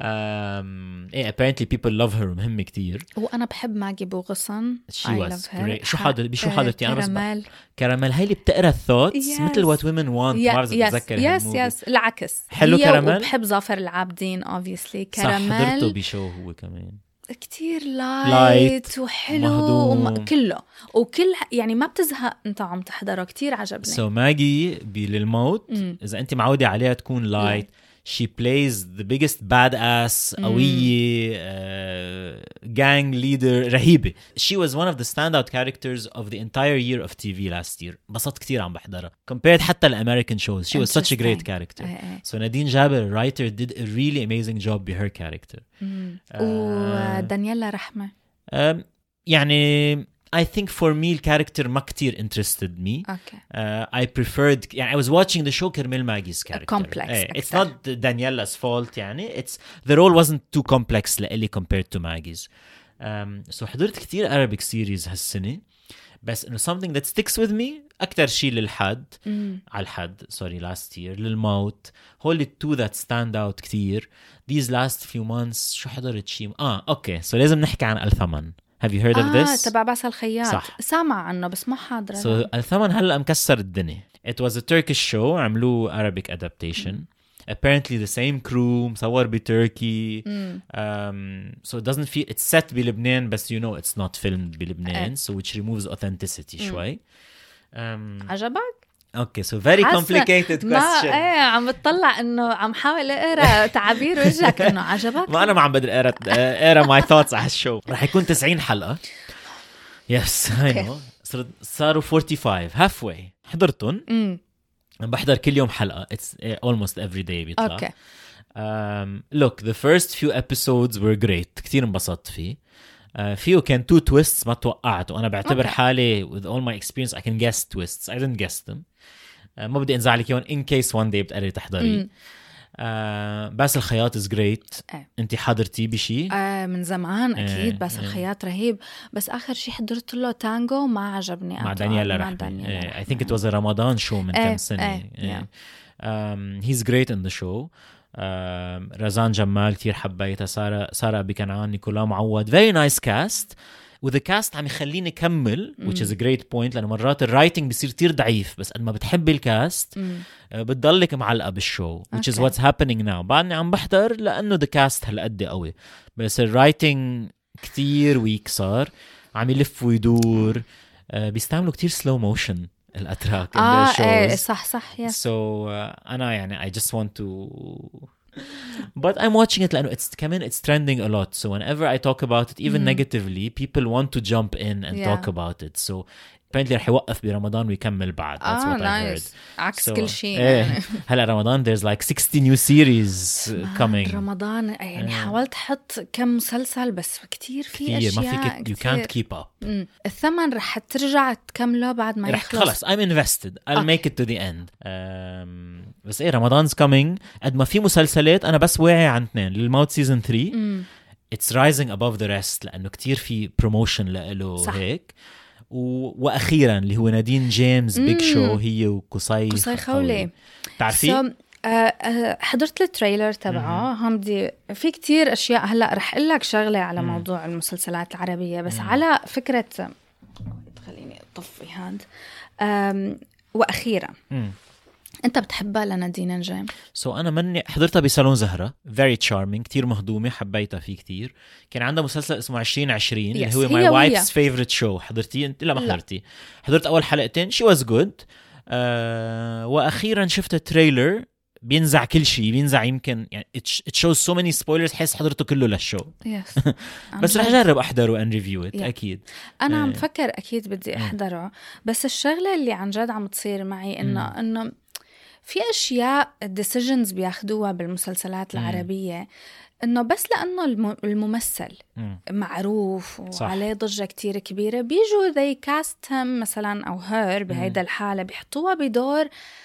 um, eh, apparently people love her مهم كتير.
وأنا بحب ماجي بوغصن.
she
I
was
love her.
great. شو حضر بشو حضرتي أنا بس
كراميل.
كراميل هاي اللي بتقرا الثوتس
Yes.
مثل what women want. ما بعرف إذا
يس
بتذكر
يس
هالموفي.
يس العكس.
حلو
هي
كراميل؟
وبحب ظافر العابدين obviously.
صح حضرته
كراميل
بشو هو كمان
كتير
لايت،
لايت وحلو
مهضوم.
وم... كله وكل يعني ما بتزهق انت عم تحضره. كتير عجبني.
سو so, ماجي بللموت إذا أنت معودة عليها تكون لايت. she plays the biggest badass قوية uh, gang leader رهيبة. she was one of the standout characters of the entire year of T V last year. بسط كتير عم بحضرها compared حتى الأمريكان shows. she was such a great
Interesting.
character.
إيه إيه.
so نادين جابر writer did a really amazing job with her character.
uh, ودانييلا رحمة
um, يعني I think for me الكاركتر ما كتير interested me.
okay.
Uh, I preferred يعني I was watching the show كرمال ماجي's character.
complex
eh, it's
أكثر.
not Daniela's fault يعني it's the role wasn't too complex لإلي compared to Maggie's. Um, so حضرت كتير Arabic series هالسنة بس إنه something that sticks with me أكتر شيء للحد
mm.
على الحد sorry last year للموت هول two that stand out كتير these last few months. شو حضرت شيء آه أوكي so لازم نحكي عن الثمن. Have you heard of
آه
this?
تبع باسل الخياط.
صح.
سامع عنه بس ما حاضرة.
So الثمن هلأ مكسر الدنيا. It was a Turkish show عملوه Arabic adaptation. Mm. Apparently the same crew مصور بتركي.
mm.
um, so it doesn't feel it's set بلبنان بس you know it's not filmed بلبنان so which removes authenticity mm. شوي. um,
عجبك؟
Okay so very complicated
ما
question.
ايه عم بتطلع انه عم حاول اقرا تعابير وجهك انه عجبك.
ما أنا ما عم بدي أقرأ أقرأ my thoughts على الشو. رح يكون تسعين حلقة. Yes I know. صاروا forty-five halfway. حضرتن.
امم
بحضر كل يوم حلقة. It's almost every day بيطلع.
اوكي.
Um, look, the first few episodes were great. كتير انبسطت فيه. Uh, فيه كان two twists ما توقعت وأنا بعتبر
Okay.
حالي with all my experience I can guess twists. I didn't guess them. Uh, ما بدي انزعلك يون in case one day بتقرري تحضري. Uh, بس الخياط is great.
إيه.
أنت حضرتي بشي؟
آه من زمان أكيد
إيه،
بس
إيه.
الخياط رهيب. بس آخر شي حضرت له تانجو ما عجبني
مع
أطول.
دانييلا
مع
رحمي.
دانييلا
إيه. I
رحمي.
think it was a Ramadan show من
إيه،
كم سنة.
إيه،
إيه. Um, he's great in the show. um, رزان جمال كتير حبيتها. سارة سارة أبي كنعان، نيكولا معوض. very nice cast. وذا كاست عم يخليني أكمل which is a great point لأنه مرات الرايتنج بيصير كتير ضعيف بس قد ما بتحبي الكاست uh, بتضلك معلقة بالشو which is
Okay.
what's happening now. بعدني عم بحضر لأنه the cast هالقد قوي بس الرايتنج كتير ويك صار. عم يلف ويدور. uh, بيستعملوا كتير slow motion الأتراك in
آه
their
إيه
shows.
صح صح yes.
So uh, أنا يعني I just want to but I'm watching it لأنه it's كمان it's trending a lot so whenever I talk about it even negatively people want to jump in and
Yeah.
talk about it so apparently رح يوقف برمضان ويكمل بعد. That's
آه
what I heard.
nice. عكس
So,
كل شيء
إيه.
يعني.
هلا رمضان there's like sixty new series coming.
رمضان يعني حاولت أحط كم مسلسل بس كتير في
كتير
أشياء
ما فيك you can't keep up.
مم. الثمن رح ترجع تكمله بعد ما
رح
يخلص.
خلص I'm invested I'll
Okay.
make it to the end. um, بس ايه رمضان's coming قد ما في مسلسلات أنا بس واعي عن اثنين. للموت season three
مم.
it's rising above the rest لأنه كتير في promotion لإله
صح.
هيك. و... وأخيرا اللي هو نادين جيمس بيج شو هي وقصي
قصي خولي.
تعرفي؟
So, آه، آه، حضرت التريلر تبعه. هم بدي في كتير أشياء. هلأ رح أقول لك شغلة على موضوع المسلسلات العربية بس على فكرة خليني أطفي هاد. آم، وأخيرا
مم.
أنت بتحبها لنادين جيم؟
سو so أنا مني حضرتها بصالون زهرة very charming كتير مهضومة حبيتها فيه كتير. كان عندها مسلسل اسمه عشرين عشرين
Yes,
اللي هو
هي
my
ويا.
wife's favorite show. حضرتي أنت؟ لا ما
لا.
حضرتي. حضرت أول حلقتين she was good. uh, وأخيرا شفت التريلر بينزع كل شيء بينزع يمكن يعني it, it shows so many spoilers حس حضرته كله للشو.
يس.
بس رح أجرب أحضره and review it
Yeah.
أكيد.
أنا عم
إيه.
فكر أكيد بدي أحضره بس الشغلة اللي عن جد عم تصير معي إنه إنه في أشياء decisions بياخدوها بالمسلسلات العربية إنه بس لأنه الم- الممثل
مم.
معروف
صح.
وعليه ضجة كتير كبيرة بيجوا they cast him مثلا أو her بهيدا الحالة بيحطوها بدور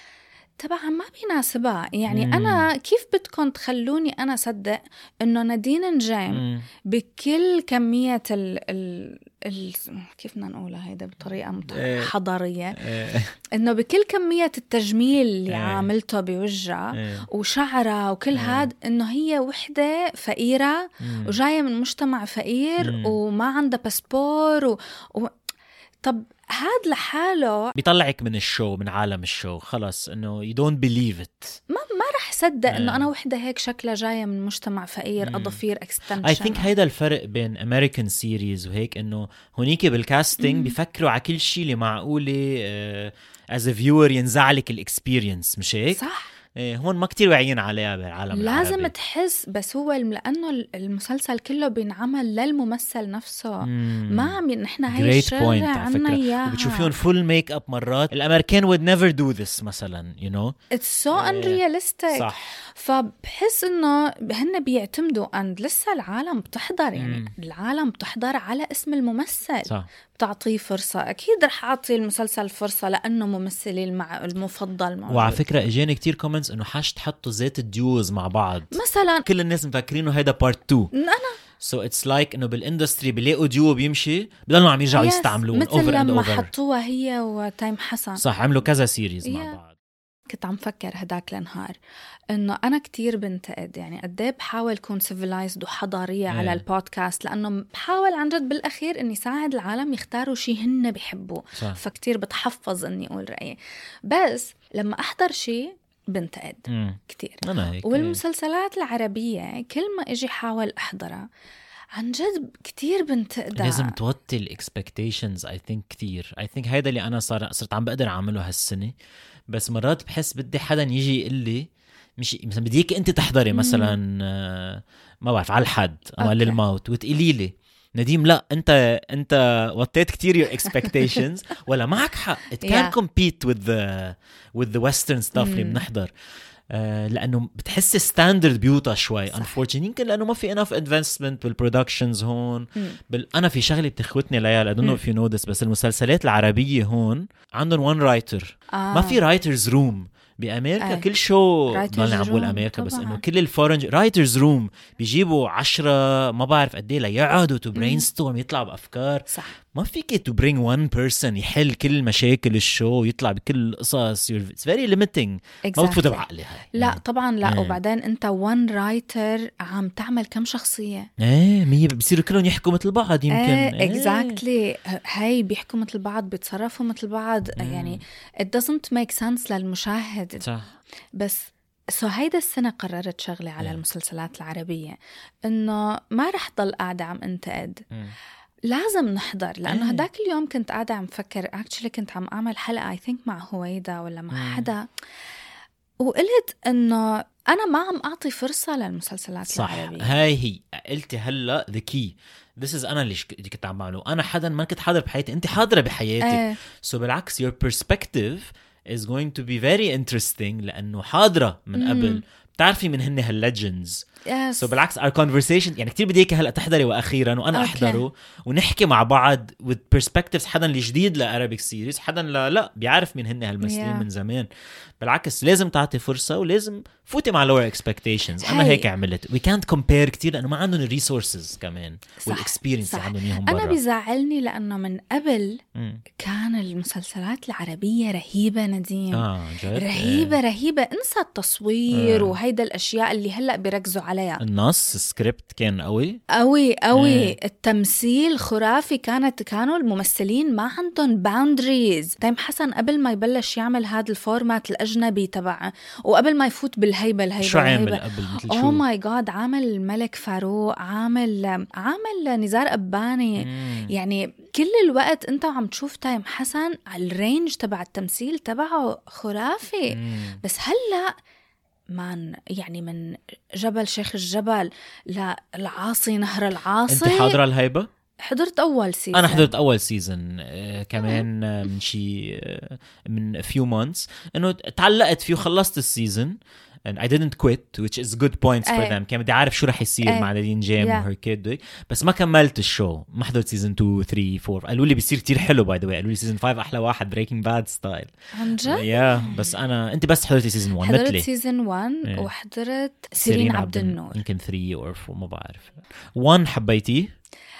طبعا ما بيناسبها. يعني
مم.
أنا كيف بدكم تخلوني أنا صدق إنه نادين جيم
مم.
بكل كمية ال ال ال كيف بدنا نقولها هيدا بطريقة مت-
إيه.
حضارية
إيه.
إنه بكل كمية التجميل اللي
إيه.
عاملته بوجهها
إيه.
وشعرها وكل هاد إنه هي وحدة فقيرة
مم.
وجاية من مجتمع فقير
مم.
وما عندها باسبور و... و... طب هاد لحاله
بيطلعك من الشو من عالم الشو خلص انه you don't believe it.
ما ما رح صدق
إيه.
إنه أنا وحدة هيك شكلها جاية من مجتمع فقير
مم.
أضفير extension.
I think هيدا الفرق بين American series وهيك انه هونيك بالكاستنج بيفكروا على كل شيء اللي معقولة uh, as a viewer ينزعلك الاكسبيرينس مش هيك؟
صح.
إيه هون ما كتير واعيين عليها بالعالم
لازم
العربي.
تحس بس هو الم- لأنه المسلسل كله بينعمل للممثل نفسه.
مم.
ما عم نحن هاي
Great point
الشغلة
على
عنا
فكرة.
إياها.
وبتشوفيهم فول ميك اب مرات الأمريكان would never do this مثلا you know.
It's so unrealistic.
صح.
فبحس إنه هن بيعتمدوا أن لسه العالم بتحضر يعني
مم.
العالم بتحضر على اسم الممثل.
صح.
بتعطيه فرصة. أكيد رح أعطي المسلسل فرصة لأنه ممثلي المع... المفضل موجود.
وعلى فكرة اجاني كتير كومنتس انه حاش تحطوا زيت الديوز مع بعض
مثلا
كل الناس مفكرينه هيدا بارت تو.
أنا
سو اتس لايك انه بالاندستري بيلاقوا ديو بيمشي بضلوا عم يرجعوا
Yes.
يستعملون
مثل
اوفر اند
لما
اوفر.
حطوها هي وتايم حسن.
صح عملوا كذا سيريز
Yeah.
مع بعض.
كنت عم فكر هداك النهار إنه أنا كتير بنتقد يعني قديه بحاول كون civilized وحضارية
إيه.
على البودكاست لأنه بحاول عن جد بالأخير إني ساعد العالم يختاروا شي هن بيحبوه.
صح.
فكتير بتحفظ إني أقول رأيي بس لما أحضر شي بنتقد
مم.
كتير.
انا هيك
والمسلسلات العربية كل ما إجي حاول أحضرها عن جد كتير بنتقدها.
لازم توطي الاكسبكتيشنز اي ثينك كتير. اي ثينك هيدا اللي انا صار صرت عم بقدر اعمله هالسنه بس مرات بحس بدي حدا يجي يقول لي مش مثلا بديك انت تحضري مثلا آه، ما بعرف على الحد او
أوكي.
للموت وتقولي لي نديم لا انت انت وطيت كتير your expectations ولا معك حق it
Yeah.
can't compete with the with the western stuff اللي بنحضر. آه لانه بتحس ستاندرد بيوطى شوي unfortunately يمكن لانه ما في enough investment بالبرودكشنز هون. بال... انا في شغله بتخوتني ليال I don't know if you know this بس المسلسلات العربيه هون عندهم one writer
آه.
ما في writers room بأمريكا.
أي.
كل شو
Writers
ضلني عم بقول
room
أمريكا بس
طبعاً.
إنه كل الفورنج رايترز روم بيجيبوا عشرة ما بعرف قديه ليقعدوا to brainstorm يطلعوا بأفكار.
صح.
ما فيك to bring one person يحل كل مشاكل الشو يطلع بكل القصص. It's very limiting.
exactly.
ما بتفوت بعقلي هاي.
لا طبعا لا
ايه.
وبعدين انت one writer عم تعمل كم شخصية
ايه مية بيصيروا كلهم يحكوا مثل بعض يمكن.
ايه exactly. هاي بيحكوا مثل بعض بيتصرفوا مثل بعض
مم.
يعني it doesn't make sense للمشاهد.
صح.
بس سو هيدا السنة قررت شغلة على
yeah.
المسلسلات العربية إنه ما رح ضل قاعدة عم انتقد
مم.
لازم نحضر لأنه
إيه.
هداك اليوم كنت قاعدة عم فكر actually كنت عم أعمل حلقة I think مع هويدا ولا مع
مم.
حدا وقلت إنه أنا ما عم أعطي فرصة للمسلسلات
صح.
العربية.
هاي هي قلتي هلا the key. This is أنا اللي كنت عم بعمله. أنا حدا ما كنت حاضر بحياتي أنت حاضرة بحياتك.
ايه.
so بالعكس your perspective is going to be very interesting لأنه حاضرة من قبل بتعرفي من هن هالليجندز.
yes.
so بالعكس our conversation يعني كتير بدي إياك هلأ تحضري وأخيرا وأنا
okay.
أحضره ونحكي مع بعض with perspectives. حدا اللي جديد لأرابيك سيريز حدا لا لا بيعرف من هن هالممثلين
yeah.
من زمان. بالعكس لازم تعطي فرصة ولازم فوتي مع lower expectations. أنا
هاي.
هيك عملت. we can't compare كتير لأنه ما عندهم الريسورسز كمان والإكسبيرينس اللي عندهم إياهم برا.
أنا بيزعلني لأنه من قبل
مم.
كان المسلسلات العربية رهيبة نديم.
آه جد.
رهيبة رهيبة. انسى التصوير
آه.
وهيدا الأشياء اللي هلأ بيركزوا عليها.
النص السكريبت كان قوي
قوي قوي.
إيه.
التمثيل خرافي. كانت كانوا الممثلين ما عندهم باوندريز. تيم حسن قبل ما يبلش يعمل هذا الفورمات الأجنبي تبعه وقبل ما يفوت بالهيبة الهيبة
شو عامل
الهيبة.
قبل مثل
اوه
شو
ماي جاد عامل الملك فاروق عامل عامل نزار أباني.
مم.
يعني كل الوقت انت عم تشوف تيم حسن على الرينج تبع التمثيل تبعه خرافي.
مم.
بس هلأ من يعني من جبل شيخ الجبل للعاصي نهر العاصي.
انت حاضرة الهيبة؟
حضرت أول سيزن.
أنا حضرت أول سيزن آه كمان آه من شي آه من few months إنه تعلقت فيه وخلصت السيزن and I didn't quit which is good points for
أي.
them. كان بدي أعرف شو رح يصير
أي.
مع نادين جيم
yeah.
وهر كيد بس ما كملت الشو. ما حضرت سيزن two three four. قالوا لي بيصير كتير حلو by the way. قالوا لي سيزن five أحلى واحد Breaking Bad ستايل.
عن جد؟
يا yeah. بس أنا أنت بس حضرتي سيزن one
حضرت
مثلي.
سيزن one
إيه.
وحضرت سيرين عبد النور.
يمكن three or four ما بعرف. one حبيتيه؟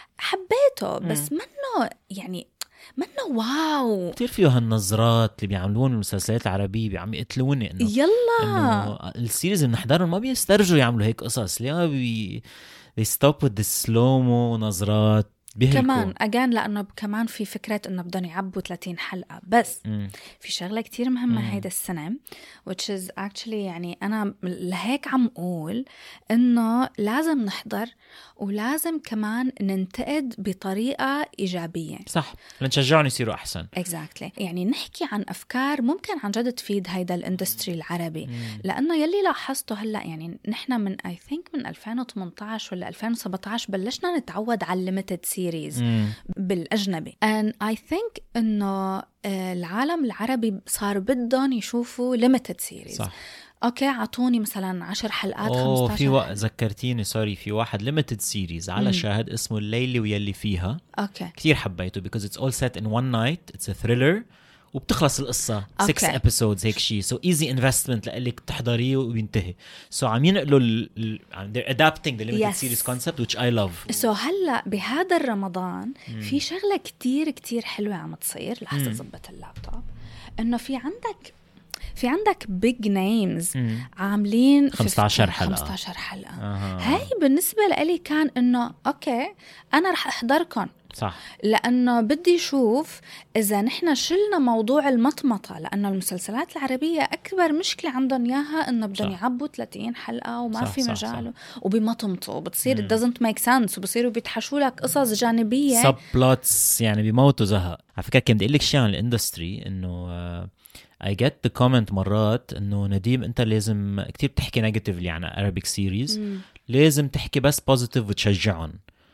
حبيته بس منه يعني منه واو.
كتير فيه هالنظرات اللي بيعملون المسلسلات العربية عم يقتلوني إنه
يلا
إنه السيريز اللي نحضرهم ما بيسترجوا يعملوا هيك قصص. ليه بي they stop with the slow mo نظرات بيهلكوا.
كمان أجان لأنه كمان في فكرة إنه بدهم يعبوا ثلاثين حلقة بس.
مم.
في شغلة كتير مهمة
مم.
هيدا السنة which is actually يعني أنا لهيك عم أقول إنه لازم نحضر ولازم كمان ننتقد بطريقة إيجابية.
صح لنشجعهم يصيروا أحسن.
exactly. يعني نحكي عن أفكار ممكن عن جد تفيد هيدا الاندستري العربي.
مم.
لأنه يلي لاحظته هلأ يعني نحنا من I think من ألفين وثمانية عشر ولا ألفين وسبعة عشر بلشنا نتعود على limited series
مم.
بالأجنبي and I think إنه العالم العربي صار بدهم يشوفوا limited series.
صح.
أوكي عطوني مثلا عشر حلقات
أوه
خمستاشر
في وقت ذكرتيني سوري في واحد limited series على
مم.
شاهد اسمه الليلة ويلي فيها.
أوكي
كتير حبيته because it's all set in one night. It's a thriller وبتخلص القصة six
Okay.
episodes هيك شيء so easy investment لقلك تحضريه وبينتهي. so عم ينقلوا ال... ال... they're adapting the limited
Yes.
series concept which I love.
سو هلا بهذا الرمضان في شغله كتير كتير حلوه عم تصير. لحظه زبط اللابتوب. انه في عندك في عندك big names
مم.
عاملين
خمستاشر حلقة.
خمستاشر حلقه.
آه.
هاي بالنسبه لي كان انه اوكي انا رح احضركم
صح
لأنه بدي شوف إذا نحن شلنا موضوع المطمطة. لأنه المسلسلات العربية أكبر مشكلة عندهم إياها إنه بدهم يعبوا ثلاثين حلقة وما
صح
في
صح
مجال
صح.
وبيمطمطوا وبتصير it doesn't make sense وبصيروا بيتحشوا لك قصص جانبية
sub plots يعني بيموتوا زهق. على فكرة كنت أقول لك شيء عن الاندستري إنه uh, I get the comment مرات إنه نديم أنت لازم كتير بتحكي negatively عن Arabic series.
مم.
لازم تحكي بس positive وتشجعهم.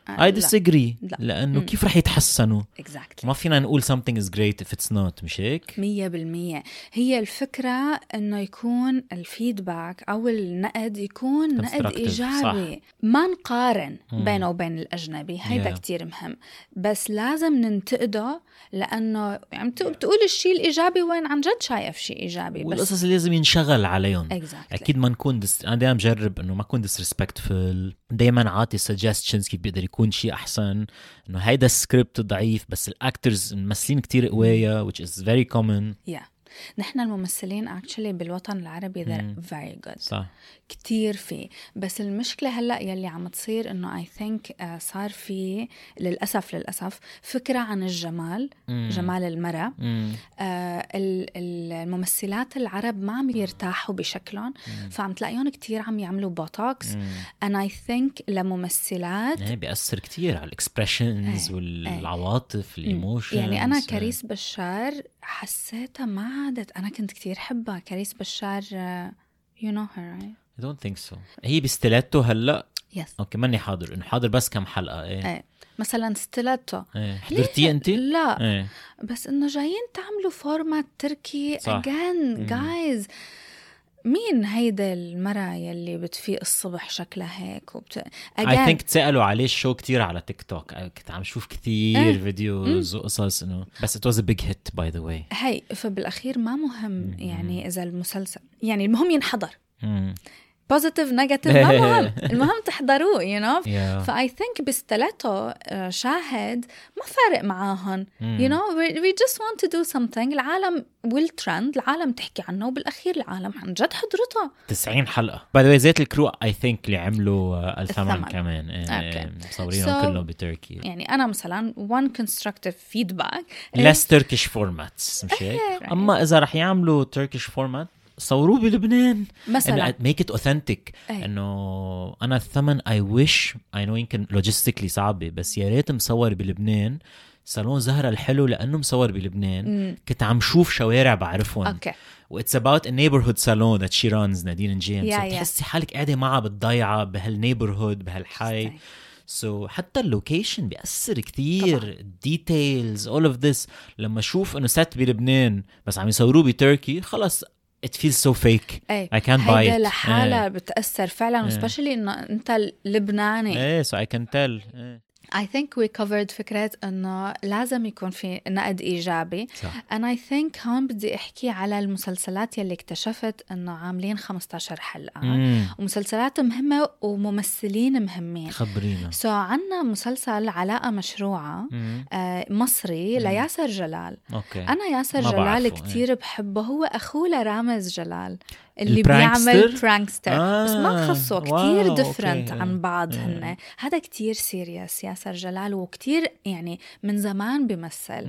I disagree
لا.
لأنه
مم.
كيف رح يتحسنوا
exactly.
ما فينا نقول something is great if it's not مش هيك
مية بالمية. هي الفكرة إنه يكون الفيدباك أو النقد يكون نقد
Constructive.
إيجابي
صح.
ما نقارن
مم.
بينه وبين الأجنبي هيدا
Yeah.
كتير مهم بس لازم ننتقده لأنه يعني بتقول الشيء الإيجابي وين عن جد شايف شيء إيجابي بس
والقصص اللي لازم ينشغل عليهم
exactly.
أكيد ما نكون دس... أنا دايما بجرب إنه ما أكون disrespectful دايما عاطي suggestions كيف بيقدر يكون شيء أحسن إنه هيدا السكريبت ضعيف بس الأكترز ممثلين كتير قوية which is very common
yeah. نحن الممثلين actually بالوطن العربي
مم.
they're very good
صح
كتير فيه بس المشكلة هلأ يلي عم تصير إنه I think uh, صار في للأسف للأسف فكرة عن الجمال
مم.
جمال المرأة
مم.
آه الممثلات العرب ما عم يرتاحوا بشكلهم فعم تلاقيهم كتير عم يعملوا بوتوكس
مم.
and I think لممثلات
يعني بيأثر كتير على الاكسبريشنز
ايه.
والعواطف الايموشنز
يعني أنا كريس بشار حسيتها ما عادت أنا كنت كتير حبها كريس بشار uh, you know her right
I don't think so هي بستيلاتو هلا
yes
اوكي ماني حاضر انه حاضر بس كم حلقة ايه,
ايه. مثلا ستيلاتو
ايه. حضرتيه انت؟
لا
ايه.
بس انه جايين تعملوا فورمات تركي
صح.
again guys مين هيدا المرأة يلي بتفيق الصبح شكلها هيك وبت...
I think تسألوا عليه شو كتير على تيك توك كنت عم شوف كتير
ايه.
فيديوز وقصص انه بس it was a big hit by the way
هي فبالأخير ما مهم يعني إذا المسلسل يعني المهم ينحضر
مم.
بوزيتيف نيجاتيف ما مهم المهم تحضروه you know
Yeah.
فاي ثينك بستلاتو شاهد ما فارق معاهم
مم.
you know we, we just want to do something العالم will trend العالم تحكي عنه وبالأخير العالم عن جد حضرته
تسعين حلقة by the way زيت الكرو I think اللي عملوا uh, الثمن
الثمن.
كمان
Okay.
مصورينهم
So-
كلهم بتركي
يعني أنا مثلا one constructive feedback
less Turkish formats مش هيك
إيه.
أما إذا رح يعملوا Turkish format صوروه بلبنان
مثلا
إنه make it authentic
أي.
إنه أنا الثمن I wish I know يمكن logistically صعبة بس يا ريت مصور بلبنان صالون زهرة الحلو لأنه مصور بلبنان
مم.
كنت عم شوف شوارع بعرفهم
أوكي
و it's about a neighborhood salon that she runs نادين نجين
Yeah,
so
yeah.
بتحسي حالك قاعدة معها بالضيعة بهالنيبرهود بهالحي so حتى اللوكيشن بيأثر كتير details all of this لما شوف إنه set بلبنان بس عم يصوروه بتركي خلص it feels so fake
أي.
I can't buy
هيدا
it
لحالها
إيه.
بتأثر فعلا
إيه.
especially إنه أنت لبناني
ايه so I can tell ايه.
I think we covered فكرة إنه لازم يكون في نقد إيجابي
صح.
and I think هون بدي أحكي على المسلسلات يلي اكتشفت إنه عاملين خمستاشر حلقة
مم.
ومسلسلات مهمة وممثلين مهمين
خبرينا
سو so, عنا مسلسل علاقة مشروعة
مم.
آه مصري
مم.
لياسر جلال
اوكي
أنا ياسر
ما
جلال
بعرفه،
كتير بحبه هو أخوه لرامز جلال اللي
البرانكستر؟
بيعمل برانكستر
آه.
بس ما خصه كتير
واو،
ديفرنت
أوكي.
عن بعض
آه.
هن هذا كتير سيريس ياسر جلال وكتير يعني من زمان بيمثل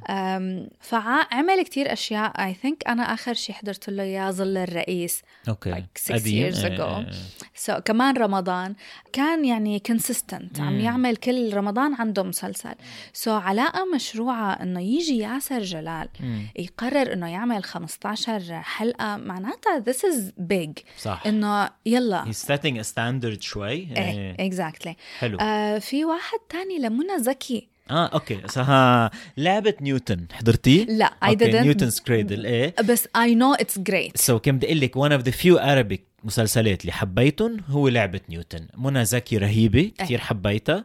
مم.
فعمل كتير أشياء I think أنا آخر شي حضرت له يا ظل الرئيس
اوكي
like six
قديم.
years
إيه،
ago.
إيه.
so, كمان رمضان كان يعني consistent عم
مم.
يعمل كل رمضان عنده مسلسل so, علاقة مشروعة إنه يجي ياسر جلال
مم.
يقرر إنه يعمل خمستاشر حلقة معناتها this is big
صح
إنه يلا
he's setting a standard شوي
إيه
إيه.
exactly
حلو
آه في واحد تاني لمنى زكي
اه اوكي سها لعبة نيوتن حضرتيه؟
لا I
اوكي
didn't
نيوتن's Cradle ايه
بس I know it's great
سو so, كم بدي اقول لك one of the few Arabic مسلسلات اللي حبيتهم هو لعبة نيوتن منى زكي رهيبة كتير حبيتها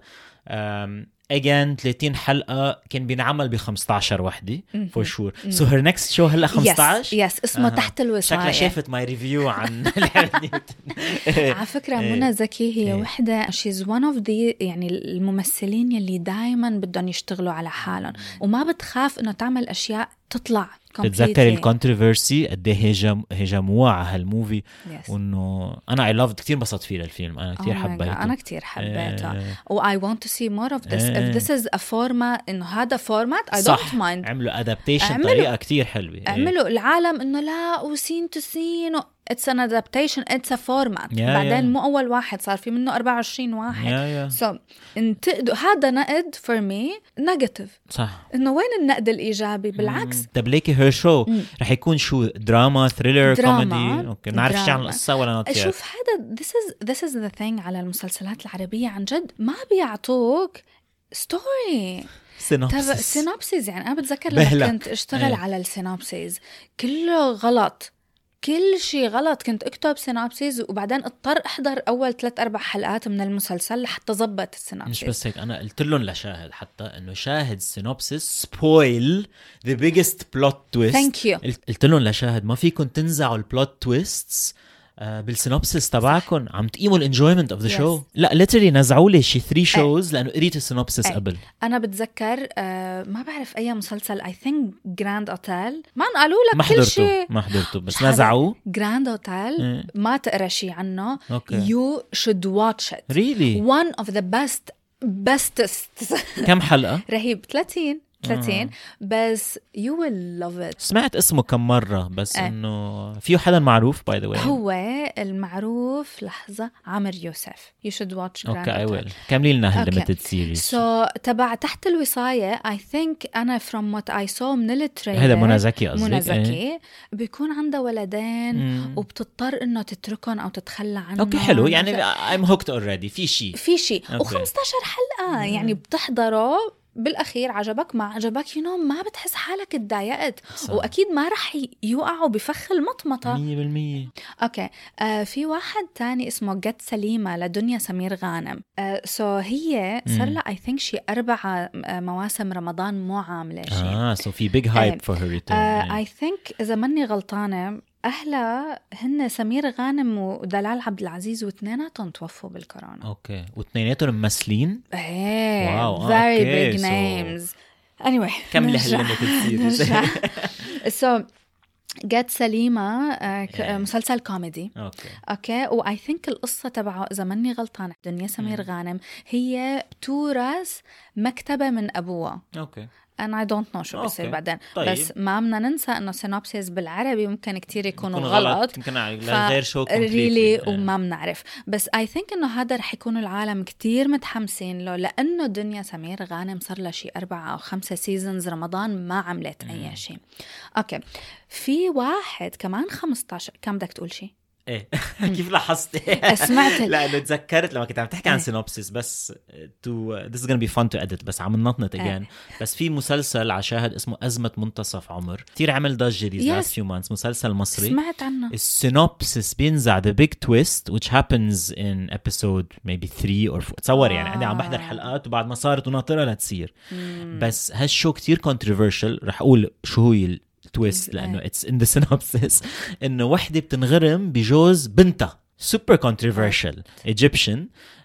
um, again ثلاثين حلقة كان بينعمل ب خمستاشر وحدة for sure so her next show هلا خمستاشر
yes, yes اسمه
آه.
تحت الوصاية
شكلها شافت ماي ريفيو عن لعبة نيوتن
على فكرة
إيه.
منى زكي هي
إيه.
وحدة she's one of the يعني الممثلين يلي دايما بدهم يشتغلوا على حالهم وما بتخاف إنه تعمل أشياء تطلع
بتذكر الكونتروفيرسي قد ايه هجم هجموها على هالموفي
yes.
وانه انا اي لافد كتير انبسطت فيه الفيلم انا كتير
Oh my God.
حبيته
أنا كتير حبيته
إيه.
و I want to see more of this
إيه.
if this is a format إنه هذا format I
صح.
don't mind
عملوا adaptation
عملوا-
طريقة كتير حلوة إيه.
عملوا العالم إنه لا وسين تو سين و... it's an adaptation, it's a format.
Yeah,
بعدين
yeah.
مو أول واحد، صار في منه أربعة وعشرين واحد.
yeah, yeah.
so انتقدوا هذا نقد for me negative.
صح.
إنه وين النقد الإيجابي؟ بالعكس.
طب ليكي هير شو رح يكون شو؟ دراما، ثريلر،
دراما.
كوميدي؟ اوكي نعرف شيء عن القصة ولا نطير؟
شوف هذا this is this is the thing على المسلسلات العربية عن جد ما بيعطوك ستوري
سينوبسيس.
سينوبسيس. يعني أنا بتذكر لما
بهلك.
كنت أشتغل
ايه.
على السينوبسيس كله غلط، كل شيء غلط. كنت أكتب سينوبسيس وبعدين اضطر أحضر أول ثلاث أربع حلقات من المسلسل لحتى ضبط السينوبسيس.
مش بس هيك، أنا قلت لهم لشاهد حتى إنه شاهد سينوبسيس spoil the biggest plot twist.
Thank you.
قلت لهم لشاهد ما فيكم تنزعوا البلوت تويستس آه بالسينوبسيس تبعكم، عم تقيموا الانجويمنت اوف ذا شو. لا ليترلي نزعوا لي شي ثري شوز لانه قريت السينوبسيس قبل.
انا بتذكر آه ما بعرف اي مسلسل اي ثينك جراند اوتيل، ما قالوا لك
ما
كل شيء.
ما حضرته بس نزعوه.
جراند اوتيل ما تقرا شيء عنه. يو شود واتش ات
ريلي
one of the best bestest.
كم حلقة؟
رهيب. ثلاثين ثلاثين
آه.
بس you will love it.
سمعت اسمه كم مرة بس
آه.
إنه فيه حدا معروف by the way.
هو المعروف لحظة عامر يوسف. you should watch Grand
اوكي اي
Hotel.
ويل كملي لنا
Okay.
هالليميتد سيريز.
so تبع تحت الوصاية I think أنا from what I saw من التريلر
هذا منى زكي قصدك؟
منى زكي
ايه.
بيكون عندها ولدين
مم.
وبتضطر إنه تتركهم أو تتخلى عنهم.
اوكي حلو يعني I'm hooked already. في شيء
في شيء
أوكي.
وخمستاشر حلقة يعني بتحضره بالأخير عجبك ما عجبك يو نو ما بتحس حالك اتضايقت، وأكيد ما رح يوقعوا بفخ المطمطة
مية بالمية.
أوكي آه في واحد تاني اسمه جت سليمة لدنيا سمير غانم. آه سو هي صار لها I think شي أربع آه مواسم رمضان مو عاملة شيء.
آه so في big hype for her return.
آه I think إذا مني غلطانة أهلا هن سمير غانم ودلال عبد العزيز واثنيناتهم توفوا بالكورونا.
اوكي واثنيناتهم ممثلين.
ايه
واو
very
okay.
big
so...
names. anyway
كم
نرجع
لهالليميتد
so جت سليمة آه مسلسل كوميدي.
اوكي
اوكي واي ثينك القصة تبعه اذا مني غلطانة دنيا سمير غانم هي تورث مكتبة من ابوها.
اوكي
أنا I don't know شو بيصير بعدين.
طيب.
بس ما بدنا ننسى إنه سينوبسيس بالعربي ممكن كتير يكونوا
يكون
غلط,
غلط. يمكن غير شو
ريلي وما بنعرف. بس I think إنه هذا رح يكونوا العالم كتير متحمسين له لأنه دنيا سمير غانم صار لها شي أربعة أو خمسة سيزونز رمضان ما عملت أي شيء. أوكي في واحد كمان خمستاشر. كم بدك تقول شي؟
ايه كيف لاحظتي؟
سمعت
لأنه تذكرت لما كنت عم تحكي عن سينوبسيس بس تو this is gonna be fun to edit بس عم ننطنط again. بس في مسلسل على شاهد اسمه أزمة منتصف عمر كتير عمل ضجة these last few months. مسلسل مصري
سمعت عنه.
السينوبسيس بينزع the big twist which happens in episode maybe three or four. تصور يعني عندي عم بحضر حلقات وبعد ما صارت وناطرة لتصير. بس هالشو كتير controversial. رح أقول شو هو تويست لأنه it's in the synopsis إنه وحدة بتنغرم بجوز بنتها. super controversial Egyptian.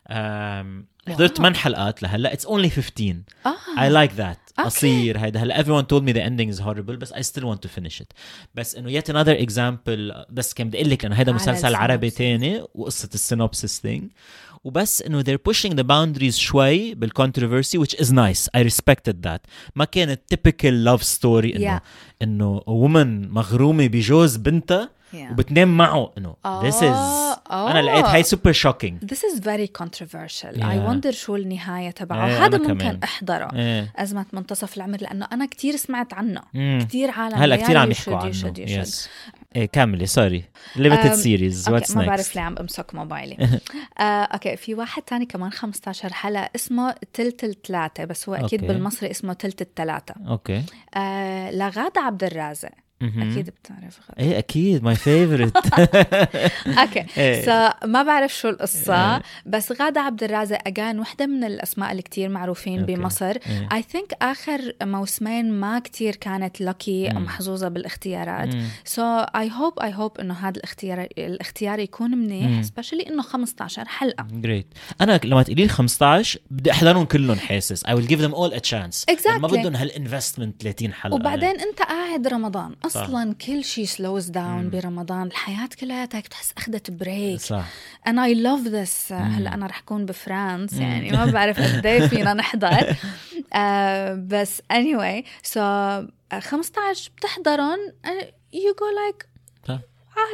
حضرت ثمان حلقات لهلا. it's only fifteen.
آه.
I like that. قصير هيدا. هلا everyone told me the ending is horrible بس I still want to finish it. بس إنه yet another example. بس كم بدي أقول لك لأنه هيدا مسلسل عربي تاني وقصة السينوبسيس thing. وبس إنه they're pushing the boundaries شوي بالcontroversy which is nice. I respected that. ما كانت typical love story إنه
yeah.
إنه woman مغرومة بجوز بنتها yeah. وبتنام معه. إنه
oh.
this is oh. أنا لقيت هاي super shocking.
This is very controversial.
yeah.
I wonder شو النهاية تبعه.
yeah,
هذا ممكن
كمان.
أحضره.
yeah.
أزمة منتصف العمر لأنه أنا كتير سمعت عنه.
mm.
كتير عالم
هلا كتير عم يحكوا عنه. yes. إيه كاملي سوري limited series what's next.
ما بعرف ليه عم بمسك موبايلي. آه، أوكي في واحد تاني كمان خمستاشر حلقة اسمه تلت الثلاثة بس هو أكيد okay. بالمصري اسمه تلت الثلاثة.
أوكي okay.
آه، لغادة عبد الرازق. أكيد بتعرف غادة.
إيه أكيد my favorite.
أوكي so ما بعرف شو القصة بس غادة عبد الرازق أجان وحدة من الأسماء اللي كتير معروفين بمصر. I think آخر موسمين ما كتير كانت lucky محظوظة بالاختيارات. so I hope I hope إنه هذا الاختيار الاختيار يكون منيح especially إنه خمستاشر حلقة.
great. أنا لما تقولي خمستاشر بدي أحضرهم كلهم حاسس I will give them all a chance.
exactly.
ما بدهم هالinvestment ثلاثين حلقة.
وبعدين أنت قاعد رمضان أصلاً كل شيء slows down مم. برمضان. الحياة كلها تحس أخذت بريك. صح. and I love this. هلأ أنا رح أكون بفرانس يعني ما بعرف قديه فينا نحضر. uh, بس anyway so خمستاشر بتحضرون you go like
صح.
عادي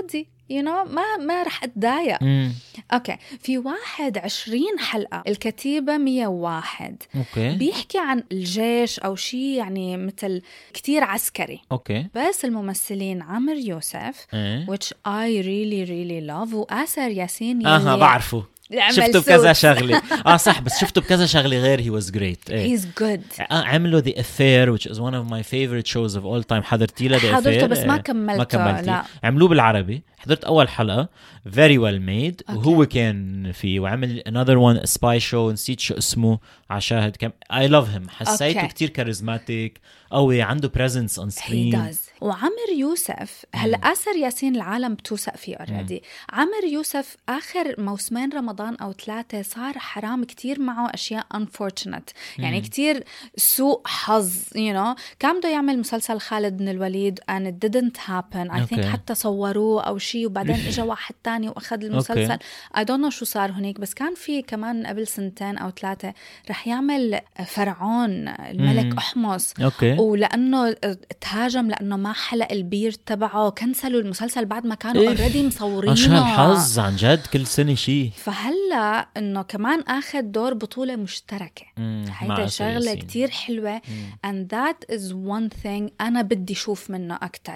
you know ما ما رح اتضايق.
مم.
اوكي في واحد عشرين حلقة الكتيبة مية وواحد
اوكي
بيحكي عن الجيش او شيء يعني مثل كتير عسكري.
اوكي
بس الممثلين عامر يوسف
ايه
which I really really love وآسر ياسين
اها
يلي
بعرفه
عمل
شفته بكذا
Suits.
شغله اه صح بس شفته بكذا شغله غير he was great ايه.
he's good.
آه عملوا The Affair which is one of my favorite shows of all time. حضرتي له The Affair؟
حضرته بس ما
إيه.
كملته.
ما كملتي.
لا
عملوه بالعربي. حضرت أول حلقة very well made وهو كان فيه وعمل another one a spy show نسيت شو اسمه عشاهد كم I love him حسيته
Okay.
كتير كاريزماتيك قوي عنده presence on
he
screen.
does. وعمر يوسف هلا آسر ياسين العالم بتوثق فيه already. عمر يوسف آخر موسمين رمضان أو ثلاثة صار حرام كتير معه أشياء unfortunate يعني كتير سوء حظ you know. كان بده يعمل مسلسل خالد بن الوليد and it didn't happen I think
Okay.
حتى صوروه أو شيء وبعدين إجا واحد تاني وأخذ المسلسل I don't know شو صار هناك. بس كان في كمان قبل سنتين أو ثلاثة رح يعمل فرعون الملك أحمس
اوكي
ولأنه تهاجم لأنه ما حلق البير تبعه كنسلوا المسلسل بعد ما كانوا
إيه.
اوريدي مصورينه.
اشهر الحظ عن جد كل سنة شيء.
فهلا انه كمان اخذ دور بطولة مشتركة هيدا شغلة كتير حلوة مم. and that is one thing انا بدي شوف منه اكتر.